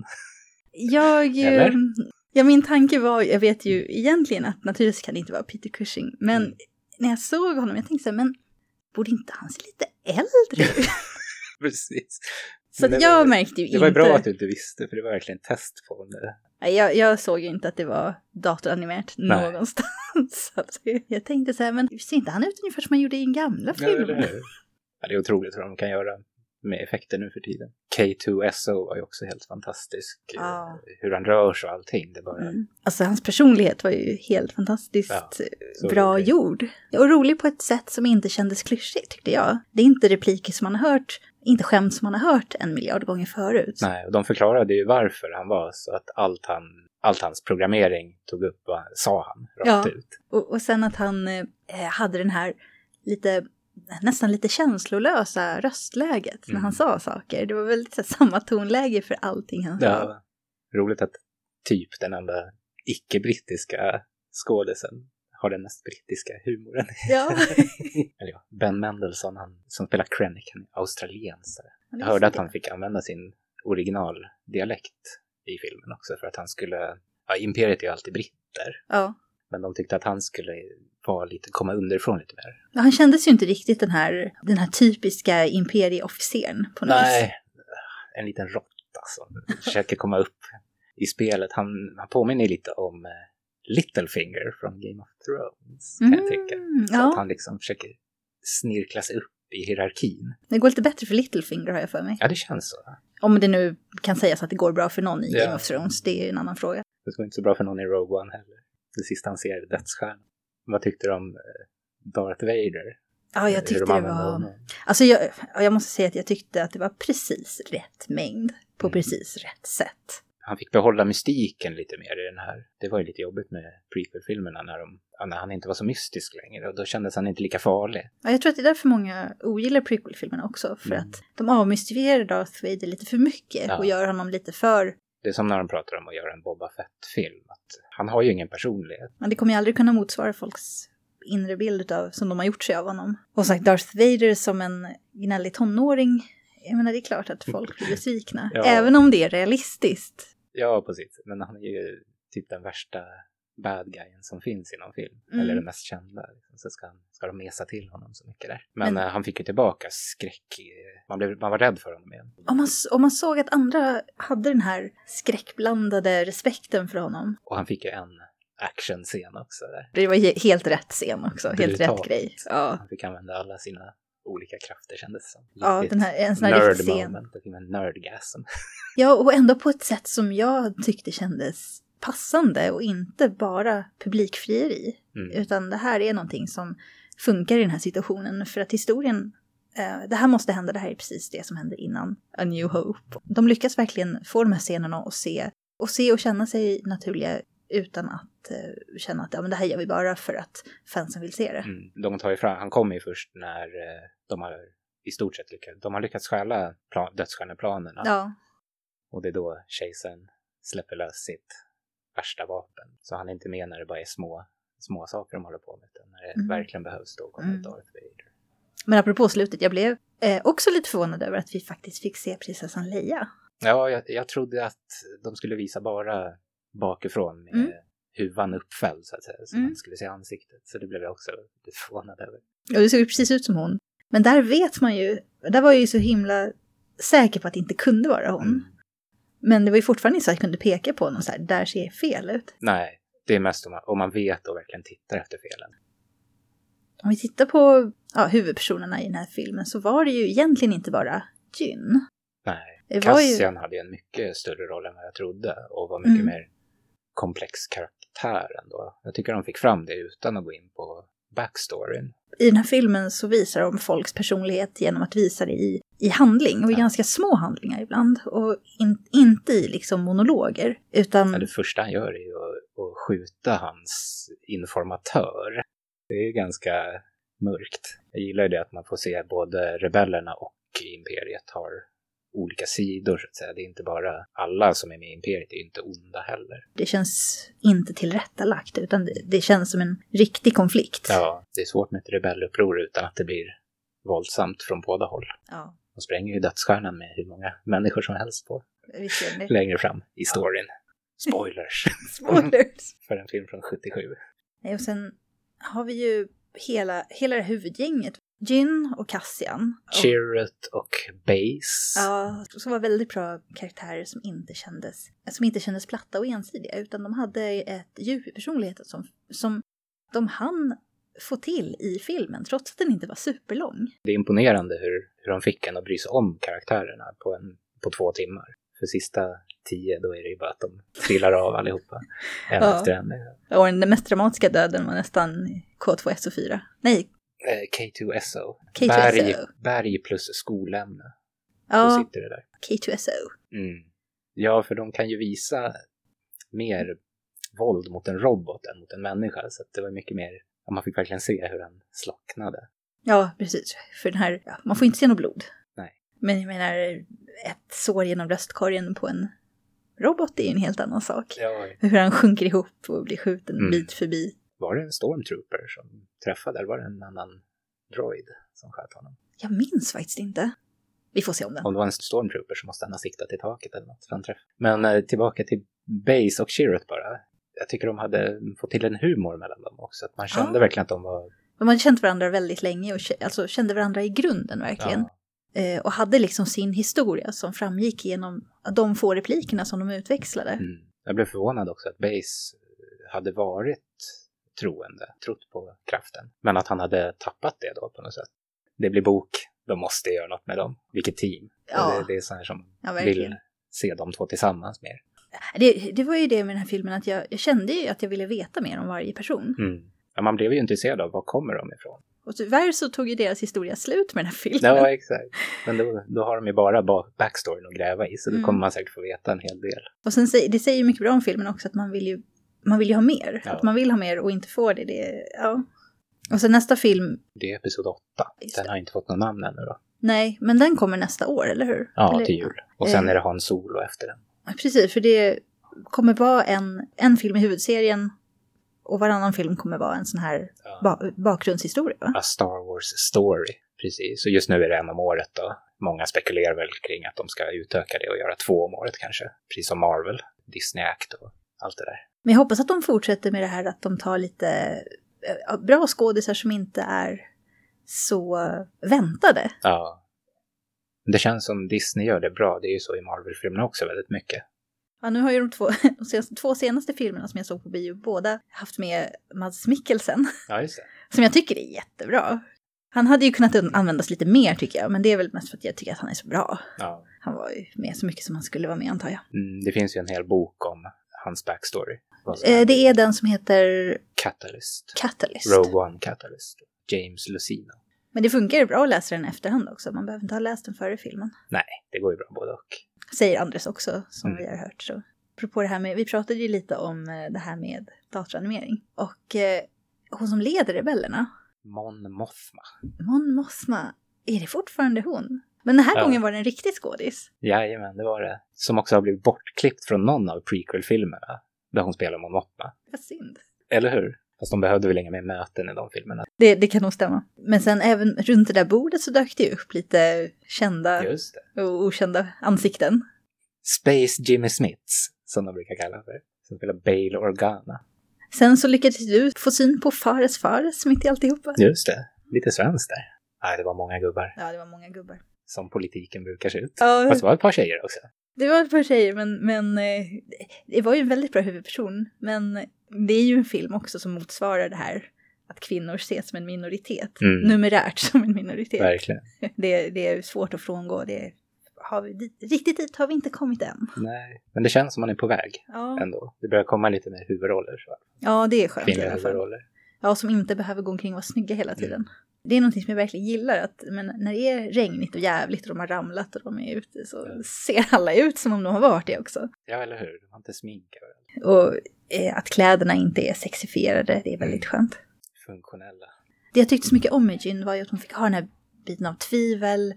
[SPEAKER 1] min tanke var, jag vet ju egentligen att naturligtvis kan det inte vara Peter Cushing. Men när jag såg honom, jag tänkte så här, men borde inte han se lite äldre?
[SPEAKER 4] Precis.
[SPEAKER 1] Så jag märkte ju inte...
[SPEAKER 4] Det var bra att du inte visste, för det var verkligen test på det.
[SPEAKER 1] Jag såg ju inte att det var datoranimerat någonstans. Alltså, jag tänkte så här, men ser inte han ut ungefär som han gjorde i en gamla film?
[SPEAKER 4] Det är otroligt vad de kan göra med effekter nu för tiden. K2SO var ju också helt fantastisk. Hur han rör sig och allting. Det bara...
[SPEAKER 1] Alltså hans personlighet var ju helt fantastiskt bra gjord. Och rolig på ett sätt som inte kändes klyschigt, tyckte jag. Det är inte repliker som man har hört, inte skämt som man har hört 1 miljard gånger förut.
[SPEAKER 4] Nej, och de förklarade ju varför han var så att allt hans programmering tog upp, sa han rakt ut.
[SPEAKER 1] Och sen att han hade den här nästan lite känslolösa röstläget när han sa saker. Det var väldigt så samma tonläge för allting han sa.
[SPEAKER 4] Ja, roligt att typ den enda icke-brittiska skådisen har den mest brittiska humoren.
[SPEAKER 1] Ja.
[SPEAKER 4] Eller Ben Mendelsohn, han som spelar Krennic, han är australiensare. Jag hörde att han fick använda sin originaldialekt i filmen också. För att han skulle... Ja, Imperiet är ju alltid britter.
[SPEAKER 1] Ja.
[SPEAKER 4] Men de tyckte att han skulle komma underifrån lite mer.
[SPEAKER 1] Ja, han kändes ju inte riktigt den här typiska imperieofficeren på något vis.
[SPEAKER 4] Nej, en liten råtta som försöker komma upp i spelet. Han påminner lite om Littlefinger från Game of Thrones, kan jag tycka. Så att han liksom försöker snirkla sig upp i hierarkin.
[SPEAKER 1] Det går lite bättre för Littlefinger, har jag för mig.
[SPEAKER 4] Ja, det känns så.
[SPEAKER 1] Om det nu kan sägas att det går bra för någon i Game of Thrones, det är ju en annan fråga.
[SPEAKER 4] Det går inte så bra för någon i Rogue One heller. Det sista han ser är dödsstjärnan. Vad tyckte du om Darth Vader?
[SPEAKER 1] Ja, jag tyckte det var... Alltså jag måste säga att jag tyckte att det var precis rätt mängd på precis rätt sätt.
[SPEAKER 4] Han fick behålla mystiken lite mer i den här. Det var ju lite jobbigt med prequel-filmerna när han inte var så mystisk längre. Och då kändes han inte lika farlig.
[SPEAKER 1] Ja, jag tror att det är därför många ogillar prequel-filmerna också. För att de avmystifierar Darth Vader lite för mycket och gör honom lite för...
[SPEAKER 4] Det är som när de pratar om att göra en Boba Fett-film. Att han har ju ingen personlighet.
[SPEAKER 1] Men det kommer ju aldrig kunna motsvara folks inre bild som de har gjort sig av honom. Och sagt Darth Vader som en gnällig tonåring. Jag menar, det är klart att folk blir besvikna. Även om det är realistiskt.
[SPEAKER 4] Ja, precis. Men han är ju typ den värsta bad guyen som finns inom film. Eller den mest kända. Så ska de mesa till honom så mycket där. Men han fick ju tillbaka skräck. Man var rädd för honom igen.
[SPEAKER 1] Om man såg att andra hade den här skräckblandade respekten för honom.
[SPEAKER 4] Och han fick ju en actionscen också där.
[SPEAKER 1] Det var helt rätt scen också. Helt rätt grej. Ja.
[SPEAKER 4] Han fick använda alla sina olika krafter, kändes det som.
[SPEAKER 1] Ja, en sån här riktig scen.
[SPEAKER 4] Det fick en nerdgasm.
[SPEAKER 1] Ja, och ändå på ett sätt som jag tyckte kändes passande och inte bara publikfrieri. Utan det här är någonting som funkar i den här situationen. För att historien, det här måste hända, det här är precis det som hände innan A New Hope. De lyckas verkligen få de här scenerna att se och känna sig naturliga utan att känna att men det här gör vi bara för att fansen vill se det.
[SPEAKER 4] De tar ju fram, han kommer ju först när de har i stort sett lyckats stjäla dödsstjärneplanerna. Ja. Och det är då kejsaren släpper lös sitt värsta vapen. Så han är inte med när det bara är små saker de håller på med. Utan när det verkligen behövs, då kommer Darth Vader.
[SPEAKER 1] Men apropå slutet, jag blev också lite förvånad över att vi faktiskt fick se prinsessan Leia.
[SPEAKER 4] Ja, jag trodde att de skulle visa bara bakifrån med huvan uppfälld så att säga. Så man skulle se ansiktet. Så det blev jag också lite förvånad över.
[SPEAKER 1] Ja, det såg ju precis ut som hon. Men där vet man ju, där var jag ju så himla säker på att det inte kunde vara hon. Men det var ju fortfarande så att jag kunde peka på någon så här, där ser fel ut.
[SPEAKER 4] Nej, det är mest om man vet och verkligen tittar efter felen.
[SPEAKER 1] Om vi tittar på huvudpersonerna i den här filmen så var det ju egentligen inte bara Jyn.
[SPEAKER 4] Nej, Cassian hade ju en mycket större roll än vad jag trodde och var mycket mer komplex karaktär ändå. Jag tycker de fick fram det utan att gå in på backstoryn.
[SPEAKER 1] I den här filmen så visar de folks personlighet genom att visa det i handling och i ganska små handlingar ibland och inte i liksom monologer utan...
[SPEAKER 4] Ja, det första han gör är ju att skjuta hans informatör. Det är ganska mörkt. Jag gillar ju det att man får se både rebellerna och imperiet har olika sidor så att säga. Det är inte bara alla som är med i imperiet, det är inte onda heller.
[SPEAKER 1] Det känns inte tillrättalagt utan det känns som en riktig konflikt.
[SPEAKER 4] Ja, det är svårt med ett rebelluppror utan att det blir våldsamt från båda håll.
[SPEAKER 1] Ja.
[SPEAKER 4] De spränger ju dödsstjärnan med hur många människor som helst på. Längre fram i storyn. Spoilers. För en film från 77.
[SPEAKER 1] Och sen har vi ju hela det huvudgänget. Jyn och Cassian.
[SPEAKER 4] Chirrut och Base.
[SPEAKER 1] Ja, som var väldigt bra karaktärer som inte kändes platta och ensidiga. Utan de hade ett djup i personligheten som de hann få till i filmen. Trots att den inte var superlång.
[SPEAKER 4] Det är imponerande hur de fick en att bry sig om karaktärerna på 2 timmar. För sista 10 då är det ju bara att de trillar av allihopa. En efter en.
[SPEAKER 1] Och den mest dramatiska döden var nästan K2SO4. Nej.
[SPEAKER 4] K2SO.
[SPEAKER 1] K2SO.
[SPEAKER 4] Berg plus skolämne.
[SPEAKER 1] Ja,
[SPEAKER 4] så sitter det där.
[SPEAKER 1] K2SO.
[SPEAKER 4] Ja, för de kan ju visa mer våld mot en robot än mot en människa. Så att det var mycket mer, man fick verkligen se hur den slocknade.
[SPEAKER 1] Ja, precis. För den här, man får inte se något blod.
[SPEAKER 4] Nej.
[SPEAKER 1] Men jag menar, ett sår genom bröstkorgen på en robot är ju en helt annan sak.
[SPEAKER 4] Ja.
[SPEAKER 1] Hur han sjunker ihop och blir skjuten bit för bit.
[SPEAKER 4] Var det en stormtrooper som träffade eller var det en annan droid som sköt honom?
[SPEAKER 1] Jag minns faktiskt inte. Vi får se om den.
[SPEAKER 4] Om det var en stormtrooper så måste han ha siktat i taket eller något. Men tillbaka till Base och Chirrut bara. Jag tycker de hade fått till en humor mellan dem också. Att man kände verkligen att de var...
[SPEAKER 1] De hade känt varandra väldigt länge och alltså, kände varandra i grunden verkligen. Ja. Och hade liksom sin historia som framgick genom de få replikerna som de utväxlade.
[SPEAKER 4] Mm. Jag blev förvånad också att Base hade varit trott på kraften. Men att han hade tappat det då på något sätt. Det blir bok, de måste göra något med dem. Vilket team.
[SPEAKER 1] Ja.
[SPEAKER 4] Det är så här som
[SPEAKER 1] vill
[SPEAKER 4] se de två tillsammans mer.
[SPEAKER 1] Det var ju det med den här filmen att jag kände ju att jag ville veta mer om varje person.
[SPEAKER 4] Mm. Ja, man blev ju intresserad av var kommer de ifrån.
[SPEAKER 1] Och tyvärr så tog ju deras historia slut med den här filmen.
[SPEAKER 4] Ja, exakt. Men då har de ju bara backstoryn att gräva i. Så då kommer man säkert få veta en hel del.
[SPEAKER 1] Och sen det säger ju mycket bra om filmen också att man vill ju ha mer. Ja. Att man vill ha mer och inte får det. Ja. Och sen nästa film...
[SPEAKER 4] Det är episod 8. Den har inte fått någon namn ännu då.
[SPEAKER 1] Nej, men den kommer nästa år, eller hur?
[SPEAKER 4] Ja, till jul. Och sen är det Han Solo efter den.
[SPEAKER 1] Ja, precis, för det kommer vara en film i huvudserien och varannan film kommer vara en sån här bakgrundshistoria, va?
[SPEAKER 4] A Star Wars story, precis. Så just nu är det en om året då. Många spekulerar väl kring att de ska utöka det och göra 2 om året kanske. Precis som Marvel, Disney Act och allt det där.
[SPEAKER 1] Men jag hoppas att de fortsätter med det här att de tar lite bra skådisar som inte är så väntade.
[SPEAKER 4] Ja. Det känns som Disney gör det bra. Det är ju så i Marvel-filmerna också väldigt mycket.
[SPEAKER 1] Ja, nu har ju de två senaste filmerna som jag såg på bio båda haft med Mads Mikkelsen.
[SPEAKER 4] Ja, just det.
[SPEAKER 1] Som jag tycker är jättebra. Han hade ju kunnat användas lite mer tycker jag. Men det är väl mest för att jag tycker att han är så bra. Ja. Han var ju med så mycket som han skulle vara med, antar jag.
[SPEAKER 4] Det finns ju en hel bok om hans backstory.
[SPEAKER 1] Det är den som heter...
[SPEAKER 4] Catalyst.
[SPEAKER 1] Rogue
[SPEAKER 4] One Catalyst. James Lucino.
[SPEAKER 1] Men det funkar ju bra att läsa den i efterhand också. Man behöver inte ha läst den före filmen.
[SPEAKER 4] Nej, det går ju bra både och.
[SPEAKER 1] Säger Andres också, som vi har hört. Så. Apropå det här med, vi pratade ju lite om det här med datoranimering. Och hon som leder rebellerna.
[SPEAKER 4] Mon
[SPEAKER 1] Mothma. Är det fortfarande hon? Men den här gången var det en riktig skådis.
[SPEAKER 4] Jajamän, det var det. Som också har blivit bortklippt från någon av prequel-filmerna. Där hon spelar Mon Mothma.
[SPEAKER 1] Vad synd.
[SPEAKER 4] Eller hur? Fast de behövde väl inga mer möten i de filmerna.
[SPEAKER 1] Det kan nog stämma. Men sen även runt det där bordet så dök det upp lite kända och okända ansikten.
[SPEAKER 4] Space Jimmy Smiths, som de brukar kalla för. Som spelar Bail Organa.
[SPEAKER 1] Sen så lyckades du få syn på Fares mitt i alltihopa.
[SPEAKER 4] Just det, lite svenskt där. Nej, det var många gubbar.
[SPEAKER 1] Ja, det var många gubbar.
[SPEAKER 4] Som politiken brukar se ut.
[SPEAKER 1] Ja.
[SPEAKER 4] Fast det var ett par tjejer också.
[SPEAKER 1] Det var ett par tjejer, men det var ju en väldigt bra huvudperson. Men det är ju en film också som motsvarar det här. Att kvinnor ses som en minoritet. Numerärt som en minoritet.
[SPEAKER 4] Verkligen.
[SPEAKER 1] Det är svårt att frångå. Riktigt dit har vi inte kommit än.
[SPEAKER 4] Nej, men det känns som man är på väg ändå. Det börjar komma lite mer huvudroller. Så.
[SPEAKER 1] Ja, det är skönt
[SPEAKER 4] i alla fall.
[SPEAKER 1] Ja, som inte behöver gå omkring och vara snygga hela tiden. Det är någonting som jag verkligen gillar. Att, men när det är regnigt och jävligt och de har ramlat och de är ute så ser alla ut som om de har varit det också.
[SPEAKER 4] Ja, eller hur? De har inte sminkat.
[SPEAKER 1] Och att kläderna inte är sexifierade, det är väldigt skönt.
[SPEAKER 4] Funktionella.
[SPEAKER 1] Det jag tyckte så mycket om Imogen var ju att hon fick ha den här biten av tvivel.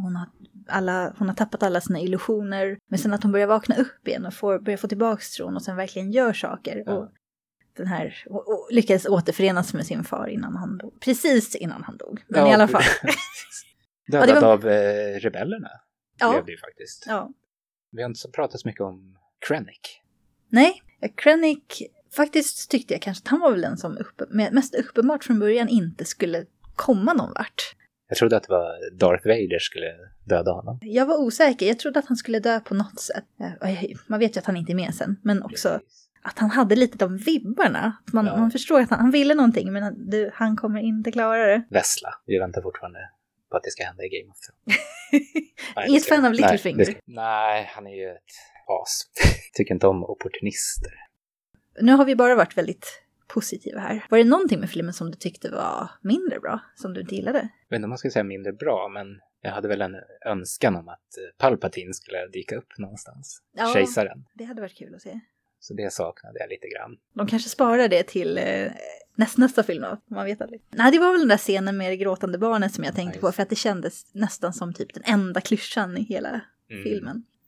[SPEAKER 1] Hon har tappat alla sina illusioner. Men sen att hon börjar vakna upp igen och börjar få tillbaka tron och sen verkligen gör saker. Ja. Och lyckades återförenas med sin far innan han dog. Precis innan han dog. Men i alla fall.
[SPEAKER 4] Dödad av rebellerna. Blev det ju faktiskt.
[SPEAKER 1] Ja.
[SPEAKER 4] Vi har inte pratat så mycket om Krennic.
[SPEAKER 1] Nej, Krennic faktiskt tyckte jag kanske att han var väl den som mest uppenbart från början inte skulle komma någon vart.
[SPEAKER 4] Jag trodde att det var Darth Vader skulle döda honom.
[SPEAKER 1] Jag var osäker. Jag trodde att han skulle dö på något sätt. Man vet ju att han inte är med sen. Men också att han hade lite de vibbarna. Att man förstår att han ville någonting. Men han kommer inte klara det.
[SPEAKER 4] Vessla. Vi väntar fortfarande på att det ska hända i Game of Thrones.
[SPEAKER 1] Inget fan av Littlefinger.
[SPEAKER 4] Nej, han är ju ett as. Tycker inte om opportunister.
[SPEAKER 1] Nu har vi bara varit väldigt positiva här. Var det någonting med filmen som du tyckte var mindre bra? Som du inte gillade?
[SPEAKER 4] Jag vet inte om man ska säga mindre bra, men jag hade väl en önskan om att Palpatine skulle dyka upp någonstans.
[SPEAKER 1] Ja,
[SPEAKER 4] Kejsaren.
[SPEAKER 1] Det hade varit kul att se.
[SPEAKER 4] Så det saknade jag lite grann.
[SPEAKER 1] De kanske sparar det till nästa film då, man vet aldrig. Nej, det var väl den där scenen med det gråtande barnet som jag tänkte på. För att det kändes nästan som typ den enda klyschan i hela filmen.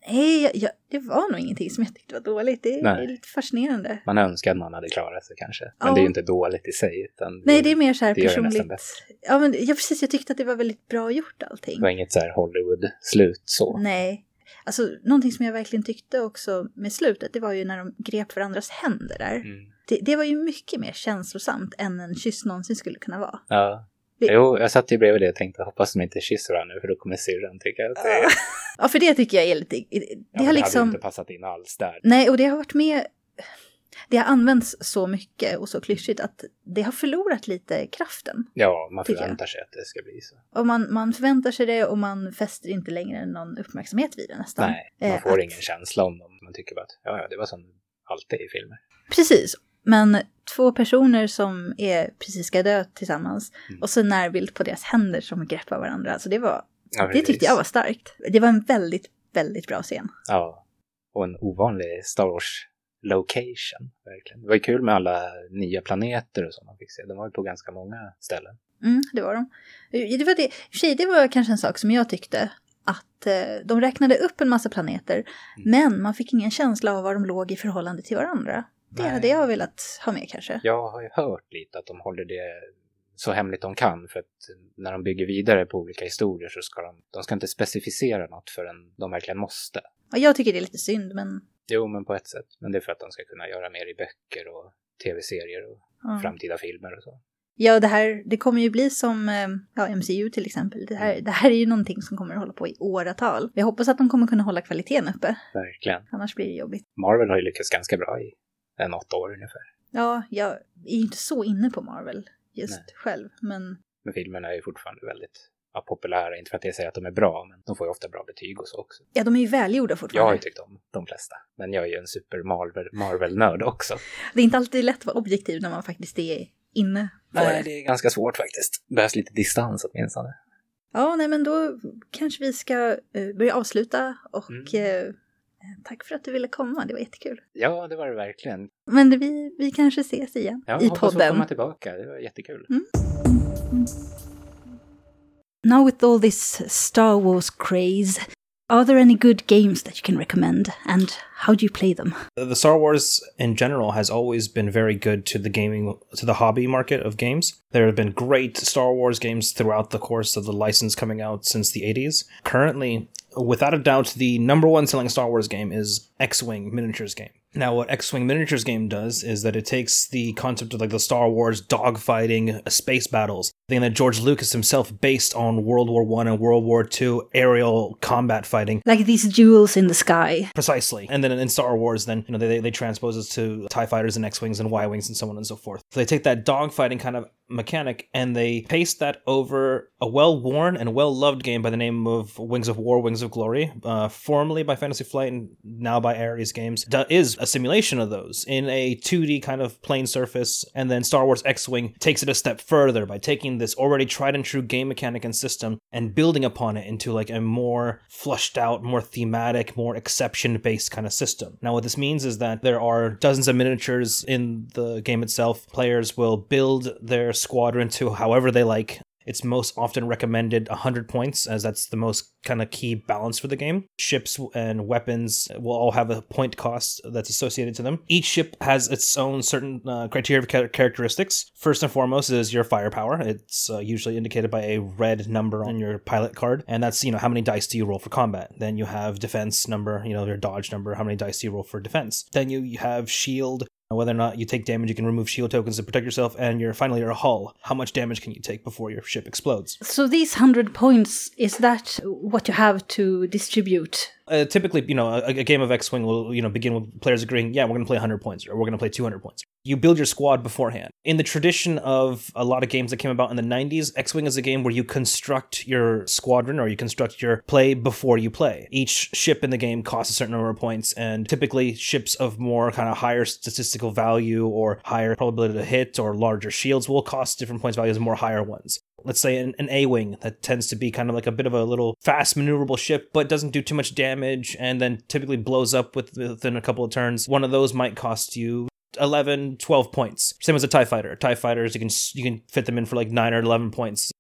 [SPEAKER 1] Nej, det var nog ingenting som jag tyckte var dåligt. Det är lite fascinerande.
[SPEAKER 4] Man önskar att man hade klarat sig kanske. Men det är ju inte dåligt i sig. Utan
[SPEAKER 1] nej, det är mer så här
[SPEAKER 4] det
[SPEAKER 1] personligt. Ja, men precis. Jag tyckte att det var väldigt bra gjort allting.
[SPEAKER 4] Det var inget så här Hollywood-slut så.
[SPEAKER 1] Nej. Alltså, någonting som jag verkligen tyckte också med slutet, det var ju när de grep varandras händer där. Det var ju mycket mer känslosamt än en kyss någonsin skulle kunna vara.
[SPEAKER 4] Ja. Jo, jag satt ju bredvid det och tänkte hoppas de inte kysser varandra nu för då kommer syrran tycka att det...
[SPEAKER 1] Ja, för det tycker jag är lite... Det har liksom...
[SPEAKER 4] hade inte passat in alls där.
[SPEAKER 1] Nej, och det har varit med... Det har använts så mycket och så klyschigt att det har förlorat lite kraften.
[SPEAKER 4] Ja, man förväntar sig att det ska bli så.
[SPEAKER 1] Och man förväntar sig det och man fäster inte längre någon uppmärksamhet vid det nästan.
[SPEAKER 4] Nej, man får ingen känsla om dem. Man tycker bara att ja, det var som alltid i filmer.
[SPEAKER 1] Precis, men 2 personer som är precis ska dö tillsammans och så närbild på deras händer som greppar varandra. Alltså det tyckte jag var starkt. Det var en väldigt, väldigt bra scen.
[SPEAKER 4] Ja, och en ovanlig Star Wars location, verkligen. Det var ju kul med alla nya planeter och så man fick se. De var ju på ganska många ställen.
[SPEAKER 1] Det var de. Det var kanske en sak som jag tyckte att de räknade upp en massa planeter men man fick ingen känsla av var de låg i förhållande till varandra. Det hade jag velat ha med kanske. Jag har ju hört lite att de håller det så hemligt de kan för att när de bygger vidare på olika historier så ska de ska inte specificera något förrän de verkligen måste. Ja, jag tycker det är lite synd men... Jo, men på ett sätt. Men det är för att de ska kunna göra mer i böcker och tv-serier och framtida filmer och så. Ja, det kommer ju bli som MCU till exempel. Det här är ju någonting som kommer att hålla på i åratal. Jag hoppas att de kommer kunna hålla kvaliteten uppe. Verkligen. Annars blir det jobbigt. Marvel har ju lyckats ganska bra i 8 år ungefär. Ja, jag är inte så inne på Marvel just själv. Men filmerna är ju fortfarande väldigt populära. Inte för att jag säger att de är bra, men de får ju ofta bra betyg och så också. Ja, de är ju välgjorda fortfarande. Jag har ju tyckt om de flesta. Men jag är ju en super Marvel-nörd också. Det är inte alltid lätt att vara objektiv när man faktiskt är inne på det. Nej, det är ganska svårt faktiskt. Det behövs lite distans åtminstone. Ja, nej men då kanske vi ska börja avsluta och tack för att du ville komma, det var jättekul. Ja, det var det verkligen. Men vi kanske ses igen i podden. Ja, hoppas få komma tillbaka, det var jättekul. Now with all this Star Wars craze, are there any good games that you can recommend, and how do you play them?
[SPEAKER 5] The Star Wars in general has always been very good to the hobby market of games. There have been great Star Wars games throughout the course of the license coming out since the 80s. Currently, without a doubt, the number one selling Star Wars game is X-Wing Miniatures game. Now, what X-Wing Miniatures game does is that it takes the concept of like the Star Wars dogfighting space battles, thing that George Lucas himself based on World War I and World War II aerial combat fighting.
[SPEAKER 1] Like these duels in the sky.
[SPEAKER 5] Precisely. And then in Star Wars, then, you know, they transpose it to TIE fighters and X-Wings and Y-Wings and so on and so forth. So they take that dogfighting kind of mechanic and they paste that over a well-worn and well-loved game by the name of Wings of War, Wings of Glory, formerly by Fantasy Flight and now by Ares Games. That is a simulation of those in a 2D kind of plane surface, and then Star Wars X-Wing takes it a step further by taking this already tried and true game mechanic and system and building upon it into like a more flushed out, more thematic, more exception-based kind of system. Now what this means is that there are dozens of miniatures in the game itself. Players will build their squadron to however they like. It's most often recommended 100 points, as that's the most kind of key balance for the game. Ships and weapons will all have a point cost that's associated to them. Each ship has its own certain criteria of characteristics. First and foremost is your firepower. It's usually indicated by a red number on your pilot card, and that's, you know, how many dice do you roll for combat. Then you have defense number, you know, your dodge number, how many dice do you roll for defense. Then you have shield. Whether or not you take damage, you can remove shield tokens to protect yourself, and finally your hull. How much damage can you take before your ship explodes?
[SPEAKER 1] So these 100 points, is that what you have to distribute?
[SPEAKER 5] Typically, you know, a game of X-Wing will, you know, begin with players agreeing, yeah, we're going to play 100 points, or we're going to play 200 points. You build your squad beforehand. In the tradition of a lot of games that came about in the 90s, X-Wing is a game where you construct your squadron, or you construct your play before you play. Each ship in the game costs a certain number of points, and typically ships of more kind of higher statistical value or higher probability to hit or larger shields will cost different points values and more higher ones. Let's say an A-Wing that tends to be kind of like a bit of a little fast maneuverable ship, but doesn't do too much damage and then typically blows up within a couple of turns. One of those might cost you 11, 12 points. Same as a TIE fighter. TIE fighters, you can fit them in for like 9 or 11 points.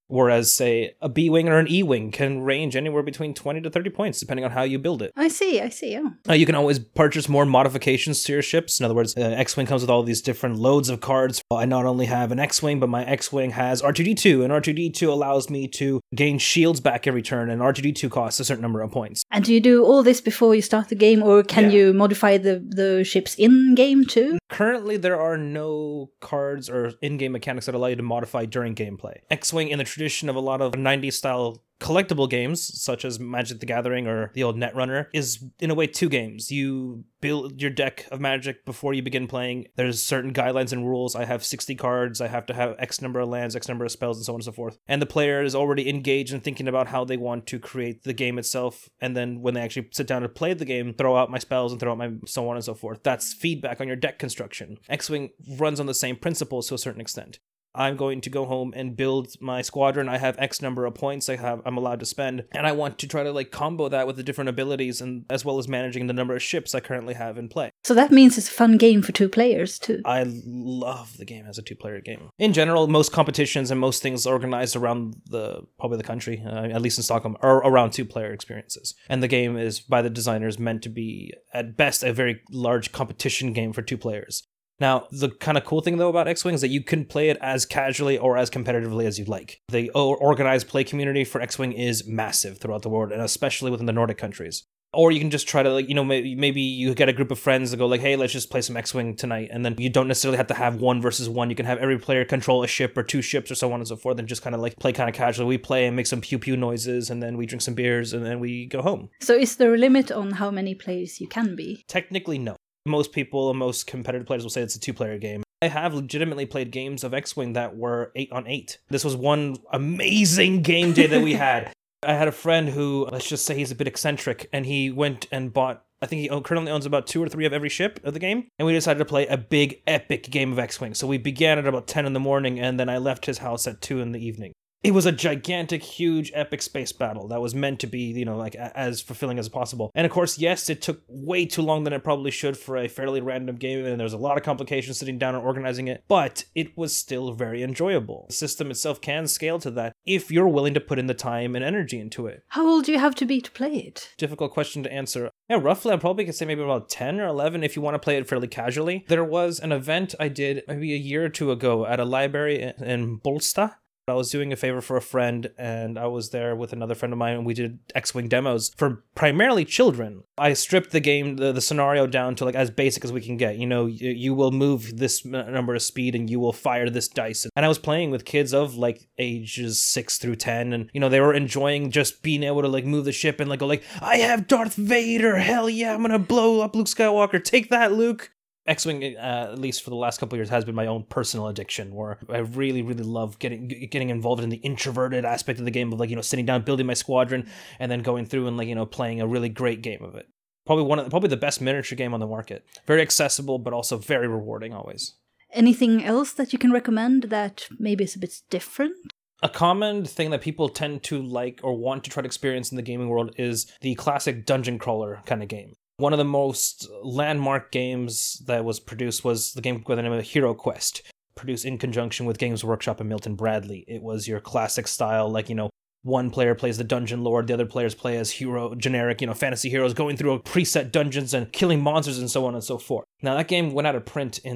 [SPEAKER 5] Whereas, say, a B-Wing or an E-Wing can range anywhere between 20 to 30 points, depending on how you build it.
[SPEAKER 1] I see, oh.
[SPEAKER 5] You can always purchase more modifications to your ships. In other words, X-Wing comes with all these different loads of cards. I not only have an X-Wing, but my X-Wing has R2-D2, and R2-D2 allows me to gain shields back every turn, and R2-D2 costs a certain number of points.
[SPEAKER 1] And do you do all this before you start the game, or can you modify the ships in-game too?
[SPEAKER 5] Currently, there are no cards or in-game mechanics that allow you to modify during gameplay. X-Wing, in the tradition of a lot of 90s style collectible games, such as Magic the Gathering or the old Netrunner, is in a way 2 games. You build your deck of Magic before you begin playing. There's certain guidelines and rules. I have 60 cards. I have to have X number of lands, X number of spells, and so on and so forth. And the player is already engaged in thinking about how they want to create the game itself. And then when they actually sit down to play the game, throw out my spells and throw out my so on and so forth. That's feedback on your deck construction. X-Wing runs on the same principles to a certain extent. I'm going to go home and build my squadron. I have X number of points I'm allowed to spend, and I want to try to combo that with the different abilities, and as well as managing the number of ships I currently have in play.
[SPEAKER 1] So that means it's a fun game for 2 players too.
[SPEAKER 5] I love the game as a 2-player game. In general, most competitions and most things organized around probably the country, at least in Stockholm, are around 2-player experiences. And the game is, by the designers, meant to be, at best, a very large competition game for 2 players. Now, the kind of cool thing, though, about X-Wing is that you can play it as casually or as competitively as you'd like. The organized play community for X-Wing is massive throughout the world, and especially within the Nordic countries. Or you can just try to, maybe you get a group of friends that go hey, let's just play some X-Wing tonight. And then you don't necessarily have to have 1 versus 1. You can have every player control a ship or 2 ships or so on and so forth, and just kind of play kind of casually. We play and make some pew-pew noises, and then we drink some beers, and then we go home.
[SPEAKER 1] So is there a limit on how many players you can be?
[SPEAKER 5] Technically, no. Most people and most competitive players will say it's a 2-player game. I have legitimately played games of X-Wing that were 8-on-8. This was one amazing game day that we had. I had a friend who, let's just say he's a bit eccentric, and he went and bought, I think he currently owns about 2 or 3 of every ship of the game, and we decided to play a big, epic game of X-Wing. So we began at about 10 in the morning, and then I left his house at 2 in the evening. It was a gigantic, huge, epic space battle that was meant to be, as fulfilling as possible. And of course, yes, it took way too long than it probably should for a fairly random game, and there was a lot of complications sitting down and organizing it, but it was still very enjoyable. The system itself can scale to that if you're willing to put in the time and energy into it.
[SPEAKER 1] How old do you have to be to play it?
[SPEAKER 5] Difficult question to answer. Yeah, roughly, I probably could say maybe about 10 or 11 if you want to play it fairly casually. There was an event I did maybe a year or 2 ago at a library in Bolstad. I was doing a favor for a friend, and I was there with another friend of mine, and we did X-Wing demos for primarily children. I stripped the game, the scenario down to as basic as we can get. You will move this number of speed, and you will fire this dice. And I was playing with kids of ages 6 through 10, and they were enjoying just being able to move the ship and go I have Darth Vader, hell yeah, I'm gonna blow up Luke Skywalker, take that, Luke. X-Wing, at least for the last couple of years, has been my own personal addiction, where I really, really love getting involved in the introverted aspect of the game of sitting down, building my squadron, and then going through and playing a really great game of it. Probably the best miniature game on the market. Very accessible, but also very rewarding always.
[SPEAKER 1] Anything else that you can recommend that maybe is a bit different?
[SPEAKER 5] A common thing that people tend to like or want to try to experience in the gaming world is the classic dungeon crawler kind of game. One of the most landmark games that was produced was the game by the name of Hero Quest, produced in conjunction with Games Workshop and Milton Bradley. It was your classic style, one player plays the dungeon lord, the other players play as generic, fantasy heroes going through preset dungeons and killing monsters and so on and so forth. Now, that game went out of print in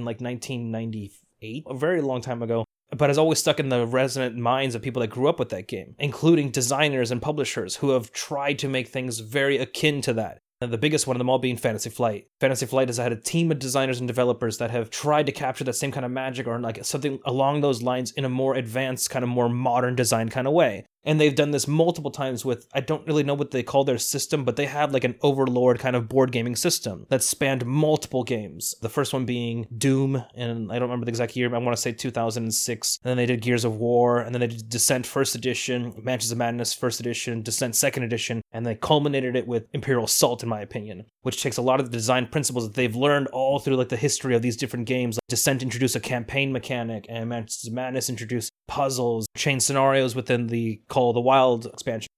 [SPEAKER 5] 1998, a very long time ago, but has always stuck in the resonant minds of people that grew up with that game, including designers and publishers who have tried to make things very akin to that. And the biggest one of them all being Fantasy Flight. Fantasy Flight has had a team of designers and developers that have tried to capture that same kind of magic or something along those lines in a more advanced, kind of more modern design kind of way. And they've done this multiple times with, I don't really know what they call their system, but they have an Overlord kind of board gaming system that spanned multiple games. The first one being Doom, and I don't remember the exact year, but I want to say 2006. And then they did Gears of War, and then they did Descent First Edition, Mansions of Madness First Edition, Descent Second Edition, and they culminated it with Imperial Assault, in my opinion, which takes a lot of the design principles that they've learned all through the history of these different games. Descent introduced a campaign mechanic, and Mansions of Madness introduced puzzles, chain scenarios within the Call of the Wild expansion.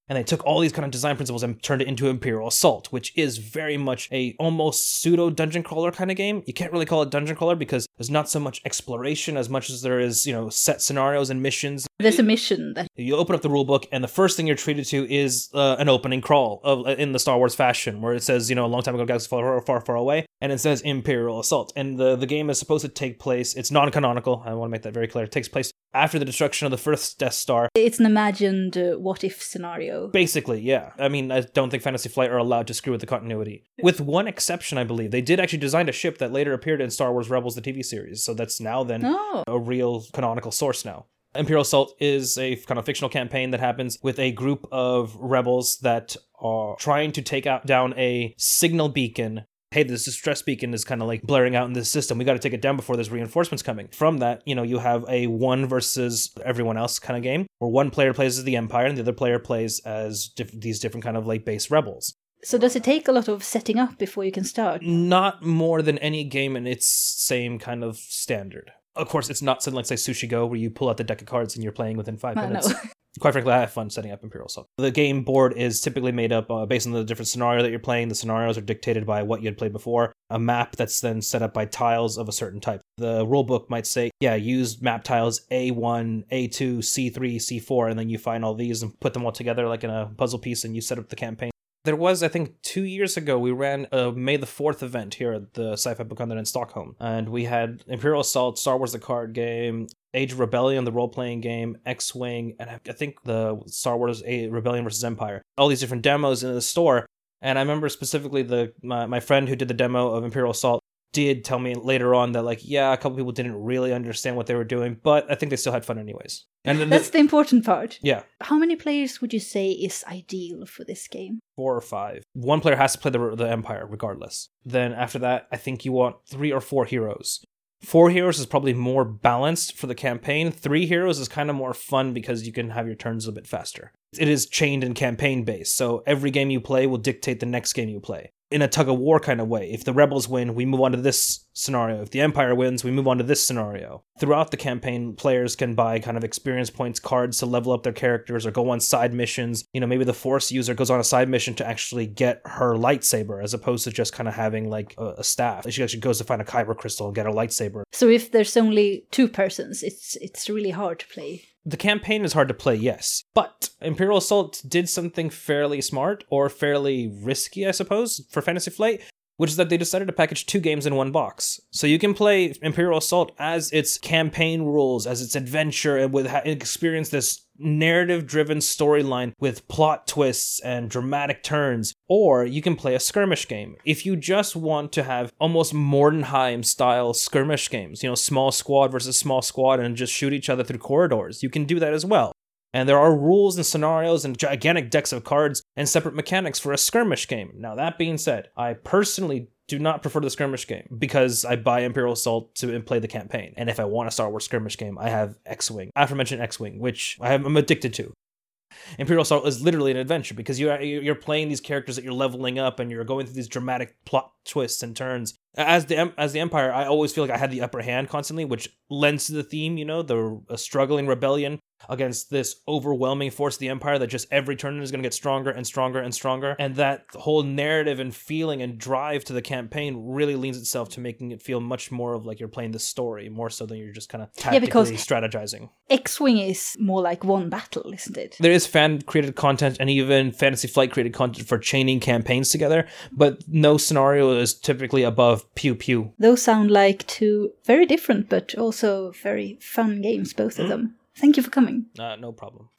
[SPEAKER 5] And they took all these kind of design principles and turned it into Imperial Assault, which is very much a almost pseudo dungeon crawler kind of game. You can't really call it dungeon crawler because there's not so much exploration as much as there is, set scenarios and missions.
[SPEAKER 1] There's a mission that
[SPEAKER 5] You open up the rulebook, and the first thing you're treated to is an opening crawl in the Star Wars fashion, where it says, a long time ago, galaxy far, far, far away, and it says Imperial Assault. And the game is supposed to take place, it's non-canonical, I want to make that very clear, it takes place after the destruction of the first Death Star.
[SPEAKER 1] it's an imagined what-if scenario.
[SPEAKER 5] Basically, yeah. I mean, I don't think Fantasy Flight are allowed to screw with the continuity. With one exception, I believe. They did actually design a ship that later appeared in Star Wars Rebels, the TV series, so that's now then a real canonical source now. Imperial Assault is a kind of fictional campaign that happens with a group of rebels that are trying to take down a signal beacon. Hey, this distress beacon is kind of like blaring out in this system. We got to take it down before there's reinforcements coming. From that, you have a one versus everyone else kind of game, where one player plays as the Empire and the other player plays as these different kind of like base rebels.
[SPEAKER 1] So does it take a lot of setting up before you can start?
[SPEAKER 5] Not more than any game in its same kind of standard. Of course, it's not something like, say, Sushi Go, where you pull out the deck of cards and you're playing within 5 minutes. Quite frankly, I have fun setting up Imperial Assault. The game board is typically made up based on the different scenario that you're playing. The scenarios are dictated by what you had played before. A map that's then set up by tiles of a certain type. The rulebook might say, use map tiles A1, A2, C3, C4, and then you find all these and put them all together like in a puzzle piece and you set up the campaign. There was, I think, 2 years ago, we ran a May the 4th event here at the Sci-Fi Book Convent in Stockholm. And we had Imperial Assault, Star Wars the card game, Age of Rebellion, the role-playing game, X-Wing, and I think the Star Wars Rebellion vs. Empire. All these different demos in the store. And I remember specifically my friend who did the demo of Imperial Assault did tell me later on that, a couple people didn't really understand what they were doing, but I think they still had fun anyways. And
[SPEAKER 1] That's the important part.
[SPEAKER 5] Yeah.
[SPEAKER 1] How many players would you say is ideal for this game?
[SPEAKER 5] 4 or 5. One player has to play the Empire, regardless. Then after that, I think you want 3 or 4 heroes. 4 heroes is probably more balanced for the campaign. 3 heroes is kind of more fun because you can have your turns a bit faster. It is chained and campaign based, so every game you play will dictate the next game you play. In a tug-of-war kind of way. If the rebels win, we move on to this scenario. If the Empire wins, we move on to this scenario. Throughout the campaign, players can buy kind of experience points, cards to level up their characters or go on side missions. Maybe the Force user goes on a side mission to actually get her lightsaber as opposed to just kind of having like a staff. She actually goes to find a kyber crystal and get a lightsaber.
[SPEAKER 1] So if there's only 2 persons, it's really hard to play.
[SPEAKER 5] The campaign is hard to play, yes. But Imperial Assault did something fairly smart, or fairly risky, I suppose, for Fantasy Flight, which is that they decided to package 2 games in one box. So you can play Imperial Assault as its campaign rules, as its adventure, and experience this narrative-driven storyline with plot twists and dramatic turns, or you can play a skirmish game. If you just want to have almost Mordenheim-style skirmish games, small squad versus small squad and just shoot each other through corridors, you can do that as well. And there are rules and scenarios and gigantic decks of cards and separate mechanics for a skirmish game. Now, that being said, I personally do not prefer the skirmish game because I buy Imperial Assault to play the campaign. And if I want a Star Wars skirmish game, I have X-Wing. Aforementioned X-Wing, which I'm addicted to. Imperial Assault is literally an adventure because you're playing these characters that you're leveling up and you're going through these dramatic plot twists and turns. As the Empire, I always feel like I had the upper hand constantly, which lends to the theme, the struggling rebellion against this overwhelming force of the Empire that just every turn is going to get stronger and stronger and stronger. And that whole narrative and feeling and drive to the campaign really leans itself to making it feel much more of like you're playing the story, more so than you're just kind of tactically strategizing.
[SPEAKER 1] X-Wing is more like one battle, isn't it?
[SPEAKER 5] There is fan-created content and even Fantasy Flight-created content for chaining campaigns together, but no scenario is typically above pew-pew.
[SPEAKER 1] Those sound like 2 very different but also very fun games, both of them. Thank you for coming.
[SPEAKER 5] No problem.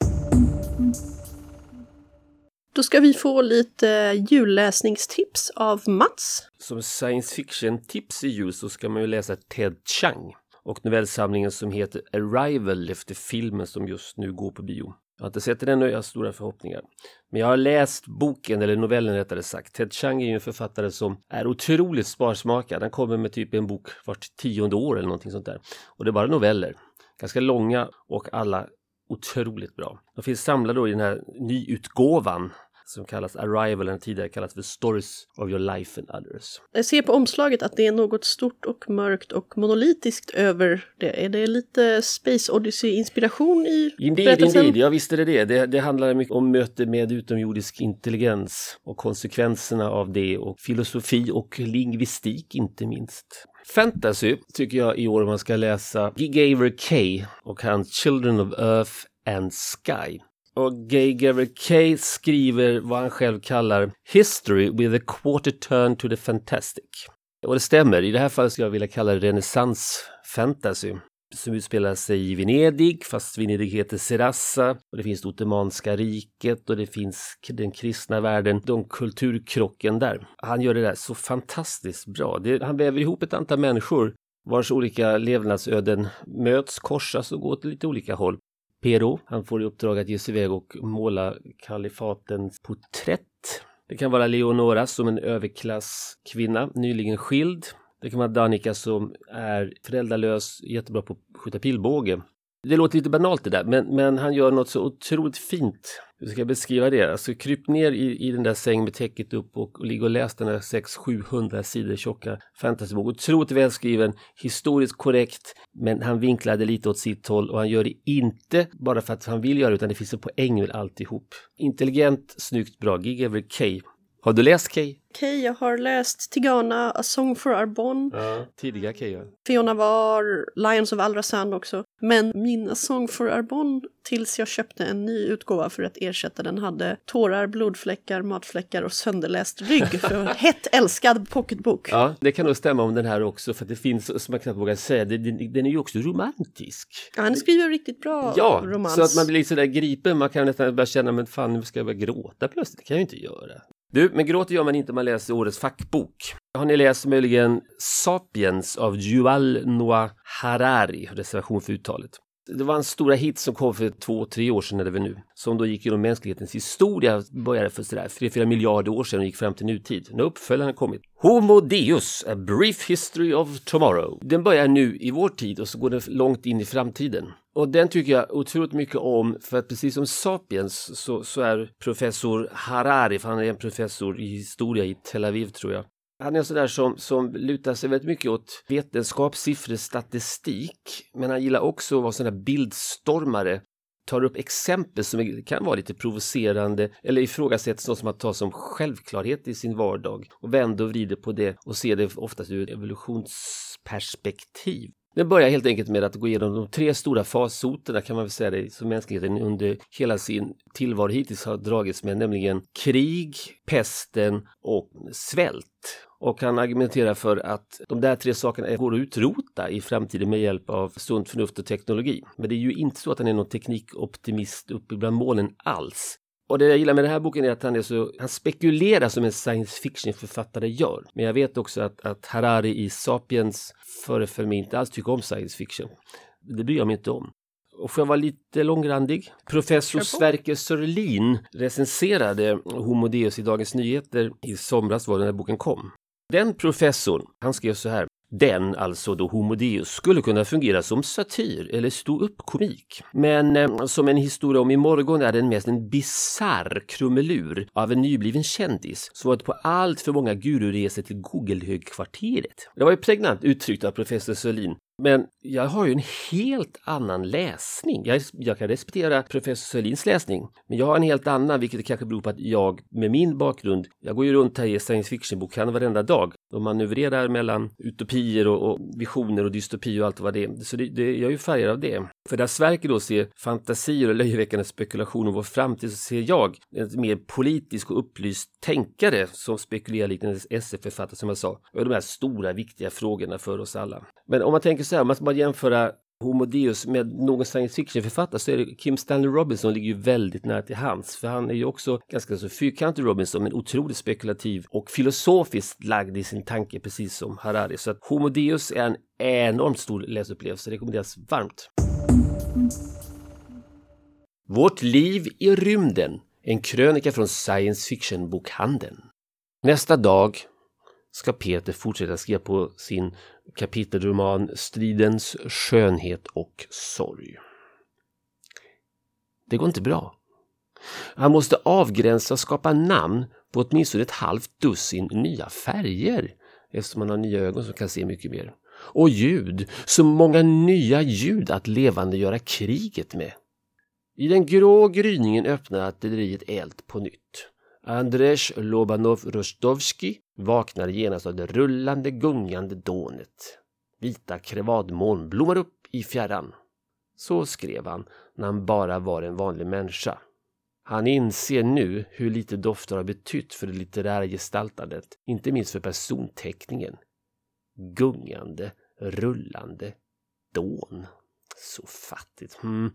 [SPEAKER 2] Då ska vi få lite julläsningstips av Mats.
[SPEAKER 6] Som science fiction-tips i jul så ska man ju läsa Ted Chiang och novellsamlingen som heter Arrival efter filmen som just nu går på bio. Jag har inte sett den och jag har stora förhoppningar. Men jag har läst boken, eller novellen rättare sagt. Ted Chiang är ju en författare som är otroligt sparsmakad. Han kommer med typ en bok vart 10:e år eller någonting sånt där. Och det är bara noveller. Ganska långa och alla otroligt bra. De finns samlade då i den här nyutgåvan som kallas Arrival, eller tidigare kallas för Stories of Your Life and Others.
[SPEAKER 2] Jag ser på omslaget att det är något stort och mörkt och monolitiskt över det. Är det lite Space Odyssey-inspiration i berättelsen?
[SPEAKER 6] Indeed, ja visst är det. Det handlar mycket om möte med utomjordisk intelligens och konsekvenserna av det, och filosofi och lingvistik inte minst. Fantasy tycker jag i år man ska läsa Guy Gaver Kay och hans Children of Earth and Sky. Och Guy Gaver Kay skriver vad han själv kallar History with a quarter turn to the fantastic. Och det stämmer, i det här fallet skulle jag vilja kalla det renässans-fantasy. Som utspelar sig i Venedig, fast Venedig heter Serassa, och det finns det Ottomanska riket och det finns den kristna världen, de kulturkrocken där. Han gör det där så fantastiskt bra. Han väver ihop ett antal människor vars olika levnadsöden möts, korsas och går till lite olika håll. Pero, han får i uppdrag att ge sig iväg och måla kalifatens porträtt. Det kan vara Leonora som en överklasskvinna, nyligen skild. Det kan vara Danica som är föräldralös, jättebra på att skjuta pilbåge. Det låter lite banalt det där, men han gör något så otroligt fint. Hur ska jag beskriva det? Alltså kryp ner i den där sängen med täcket upp och ligga och läs den där 600-700 sidor tjocka fantasybok. Otroligt välskriven, historiskt korrekt, men han vinklade lite åt sitt håll och han gör det inte bara för att han vill göra det, utan det finns en poäng med alltihop. Intelligent, snyggt, bra. Guy Gaver Kay. Har du läst Kay?
[SPEAKER 2] Kay, jag har läst Tigana, A Song for Arbonne.
[SPEAKER 6] Ja, tidiga Kay. Ja.
[SPEAKER 2] Fiona var Lions of Alrazan också. Men min A Song for Arbonne, tills jag köpte en ny utgåva för att ersätta den, hade tårar, blodfläckar, matfläckar och sönderläst rygg. För hett älskad pocketbok.
[SPEAKER 6] Ja, det kan nog stämma om den här också, för att det finns, som man knappt vågar säga, den är ju också romantisk.
[SPEAKER 2] Ja, han skriver riktigt bra romans.
[SPEAKER 6] Så att man blir lite sådär gripen, man kan nästan börja känna, men fan, nu ska jag börja gråta plötsligt, det kan jag ju inte göra. Du, men gråter gör man inte om man läser årets fackbok. Har ni läst möjligen Sapiens av Yuval Noah Harari, reservation för uttalet? Det var en stora hit som kom för 2-3 år sedan, eller nu, som då gick genom mänsklighetens historia, började för sådär 3-4 miljarder år sedan och gick fram till nutid. Nu uppföljaren har kommit. Homo Deus, A Brief History of Tomorrow. Den börjar nu i vår tid och så går den långt in i framtiden. Och den tycker jag otroligt mycket om, för att precis som Sapiens så är professor Harari, för han är en professor i historia i Tel Aviv tror jag. Han är sådär som lutar sig väldigt mycket åt vetenskap, siffror, statistik, men han gillar också att vara sån där bildstormare. Tar upp exempel som kan vara lite provocerande eller ifrågasätts något som man tar som självklarhet i sin vardag och vänder och vrider på det och ser det oftast ur evolutionsperspektiv. Den börjar helt enkelt med att gå igenom de 3 stora farsoterna, kan man väl säga det, som mänskligheten under hela sin tillvaro hittills har dragits med, nämligen krig, pesten och svält. Och han argumenterar för att de där 3 sakerna går att utrota i framtiden med hjälp av sunt förnuft och teknologi. Men det är ju inte så att han är någon teknikoptimist uppe bland molnen alls. Och det jag gillar med den här boken är att han spekulerar som en science fiction-författare gör. Men jag vet också att Harari i Sapiens föreföll mig inte alls tycker om science fiction. Det bryr jag mig inte om. Och får jag vara lite långrandig? Professor Sverker Sörlin recenserade Homo Deus i Dagens Nyheter i somras var den här boken kom. Den professorn, han skrev så här: den, alltså då Homo Deus, skulle kunna fungera som satir eller stå upp komik. Men som en historia om imorgon är den mest en bizarr krumelur av en nybliven kändis som varit på allt för många gururesor till Google-högkvarteret. Det var ju pregnant uttryckt av professor Sörlin. Men jag har ju en helt annan läsning. Jag kan respektera professor Sörlins läsning, men jag har en helt annan, vilket kanske beror på att jag med min bakgrund, jag går ju runt här i science fiction-bokhandeln varenda dag och manövrerar mellan utopier och visioner och dystopi och allt vad det är. Så jag är ju färgad av det. För där Sverker då ser fantasier och löjeväckande spekulation om vår framtid, så ser jag en mer politisk och upplyst tänkare som spekulerar liknande SF-författare, som jag sa, och de här stora viktiga frågorna för oss alla. Men om man tänker så här, om man ska bara jämföra Homo Deus med någon science fiction-författare, så är det Kim Stanley Robinson ligger ju väldigt nära till hands, för han är ju också ganska så fyrkantig Robinson, men otroligt spekulativ och filosofiskt lagd i sin tanke, precis som Harari. Så att Homo Deus är en enormt stor läsupplevelse, det rekommenderas varmt. Vårt liv i rymden, en krönika från science fiction-bokhandeln. Nästa dag ska Peter fortsätta skriva på sin kapitelroman Stridens skönhet och sorg. Det går inte bra. Han måste avgränsa och skapa namn på åtminstone ett halvt dussin nya färger, eftersom han har nya ögon som kan se mycket mer. Och ljud, så många nya ljud att levandegöra kriget med. I den grå gryningen öppnar artilleriet eld på nytt. Andrzej Lobanov-Rostovski vaknar genast av det rullande, gungande dånet. Vita krevadmoln blommar upp i fjärran. Så skrev han när han bara var en vanlig människa. Han inser nu hur lite dofter har betytt för det litterära gestaltandet, inte minst för personteckningen. Gungande, rullande, dån. Så fattigt.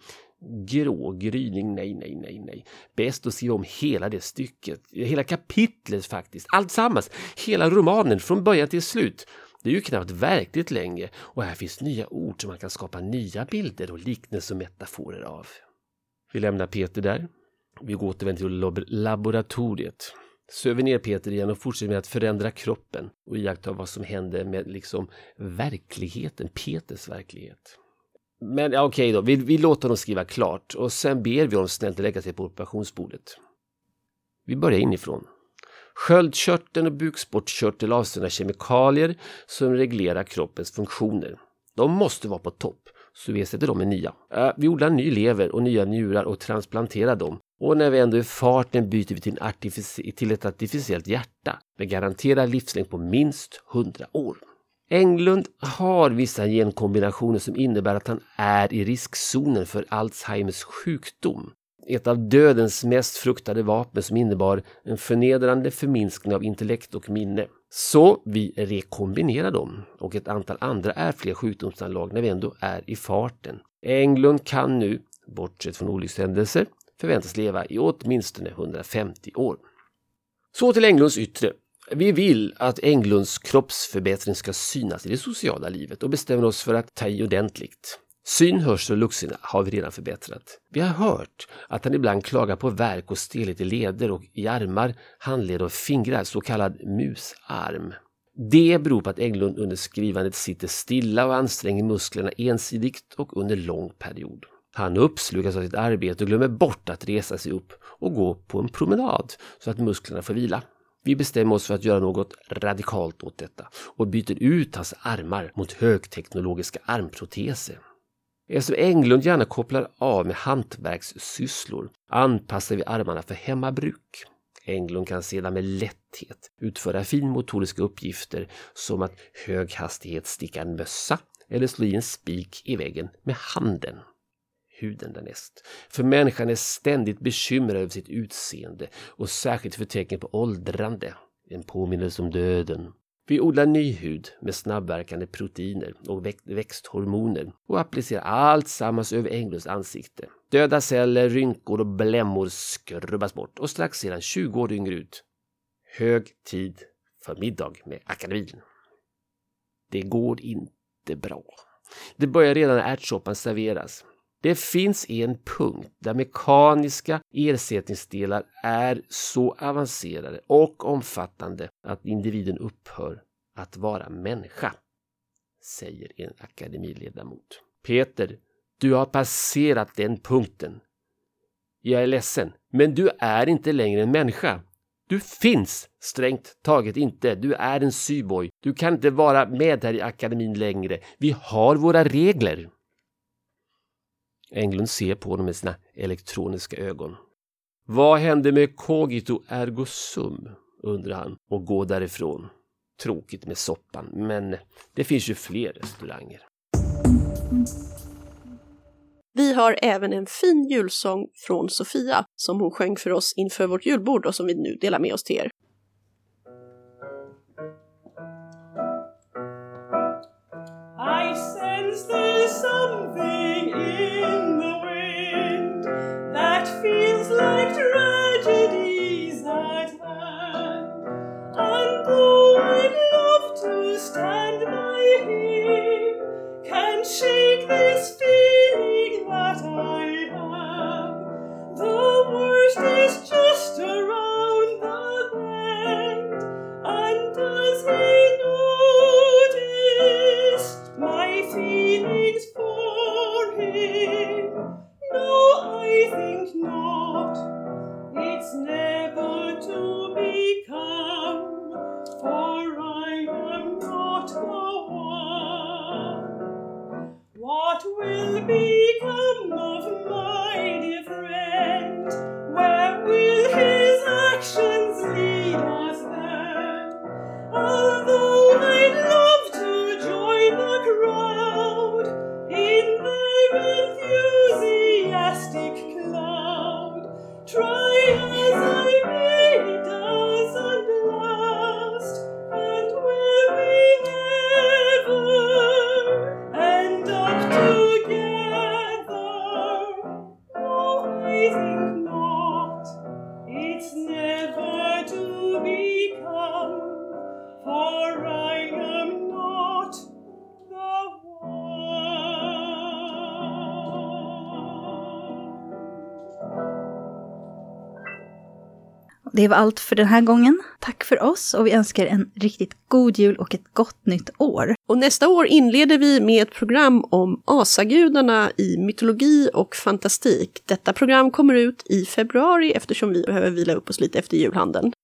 [SPEAKER 6] Grå gryning, nej. Bäst att se om hela det stycket. Hela kapitlet faktiskt. Allt sammans. Hela romanen från början till slut. Det är ju knappt verkligt länge. Och här finns nya ord som man kan skapa nya bilder och liknelser och metaforer av. Vi lämnar Peter där. Vi går återvänder till laboratoriet. Söver ner Peter igen och fortsätter med att förändra kroppen. Och iaktta vad som händer med liksom verkligheten. Peters verklighet. Men ja, okej då, vi låter dem skriva klart och sen ber vi dem snällt lägga sig på operationsbordet. Vi börjar inifrån. Sköldkörteln och bukspottkörtel avsänder kemikalier som reglerar kroppens funktioner. De måste vara på topp, så vi sätter dem i nya. Vi odlar ny lever och nya njurar och transplanterar dem. Och när vi ändå är i farten byter vi till ett artificiellt hjärta med garanterad livslängd på minst 100 år. Englund har vissa genkombinationer som innebär att han är i riskzonen för Alzheimers sjukdom. Ett av dödens mest fruktade vapen som innebar en förnedrande förminskning av intellekt och minne. Så vi rekombinerar dem och ett antal andra ärftliga sjukdomsanlag när vi ändå är i farten. Englund kan nu, bortsett från olyckshändelser, förväntas leva i åtminstone 150 år. Så till Englunds yttre. Vi vill att Englunds kroppsförbättring ska synas i det sociala livet och bestämmer oss för att ta i ordentligt. Syn, hörsel och luktsinne har vi redan förbättrat. Vi har hört att han ibland klagar på värk och stelhet i leder och i armar, handled och fingrar, så kallad musarm. Det beror på att Englund under skrivandet sitter stilla och anstränger musklerna ensidigt och under lång period. Han uppslukas av sitt arbete och glömmer bort att resa sig upp och gå på en promenad så att musklerna får vila. Vi bestämmer oss för att göra något radikalt åt detta och byter ut hans armar mot högteknologiska armproteser. Eftersom Englund gärna kopplar av med hantverkssysslor anpassar vi armarna för hemmabruk. Englund kan sedan med lätthet utföra finmotoriska uppgifter som att höghastighetssticka en mössa eller slå i en spik i väggen med handen. Huden därnäst. För människan är ständigt bekymrad över sitt utseende och särskilt för tecken på åldrande. En påminnelse om döden. Vi odlar ny hud med snabbverkande proteiner och växthormoner och applicerar allt sammans över Englunds ansikte. Döda celler, rynkor och blämmor skrubbas bort och strax sedan 20 år yngre ut. Hög tid för middag med akademin. Det går inte bra. Det börjar redan när ärtsoppan serveras. Det finns en punkt där mekaniska ersättningsdelar är så avancerade och omfattande att individen upphör att vara människa, säger en akademiledamot. Peter, du har passerat den punkten. Jag är ledsen, men du är inte längre en människa. Du finns strängt taget inte. Du är en syboy. Du kan inte vara med här i akademin längre. Vi har våra regler. Englund ser på honom med sina elektroniska ögon. Vad händer med cogito ergo sum, undrar han och går därifrån. Tråkigt med soppan, men det finns ju fler restauranger.
[SPEAKER 2] Vi har även en fin julsång från Sofia som hon sjöng för oss inför vårt julbord och som vi nu delar med oss till er.
[SPEAKER 7] I sense there's something in the wind that feels like tragedies at hand. And though I'd love to stand by him, can't shake this feeling that I have. The worst is just around the bend, and does he notice my feelings for him? No, I think not. enthusiastic cloud. Try as I may, it doesn't last. And will we ever end up together? Oh, I think not. It's never to become, for I am not the one.
[SPEAKER 1] Det var allt för den här gången. Tack för oss och vi önskar en riktigt god jul och ett gott nytt år.
[SPEAKER 2] Och nästa år inleder vi med ett program om asagudarna i mytologi och fantastik. Detta program kommer ut i februari eftersom vi behöver vila upp oss lite efter julhandeln.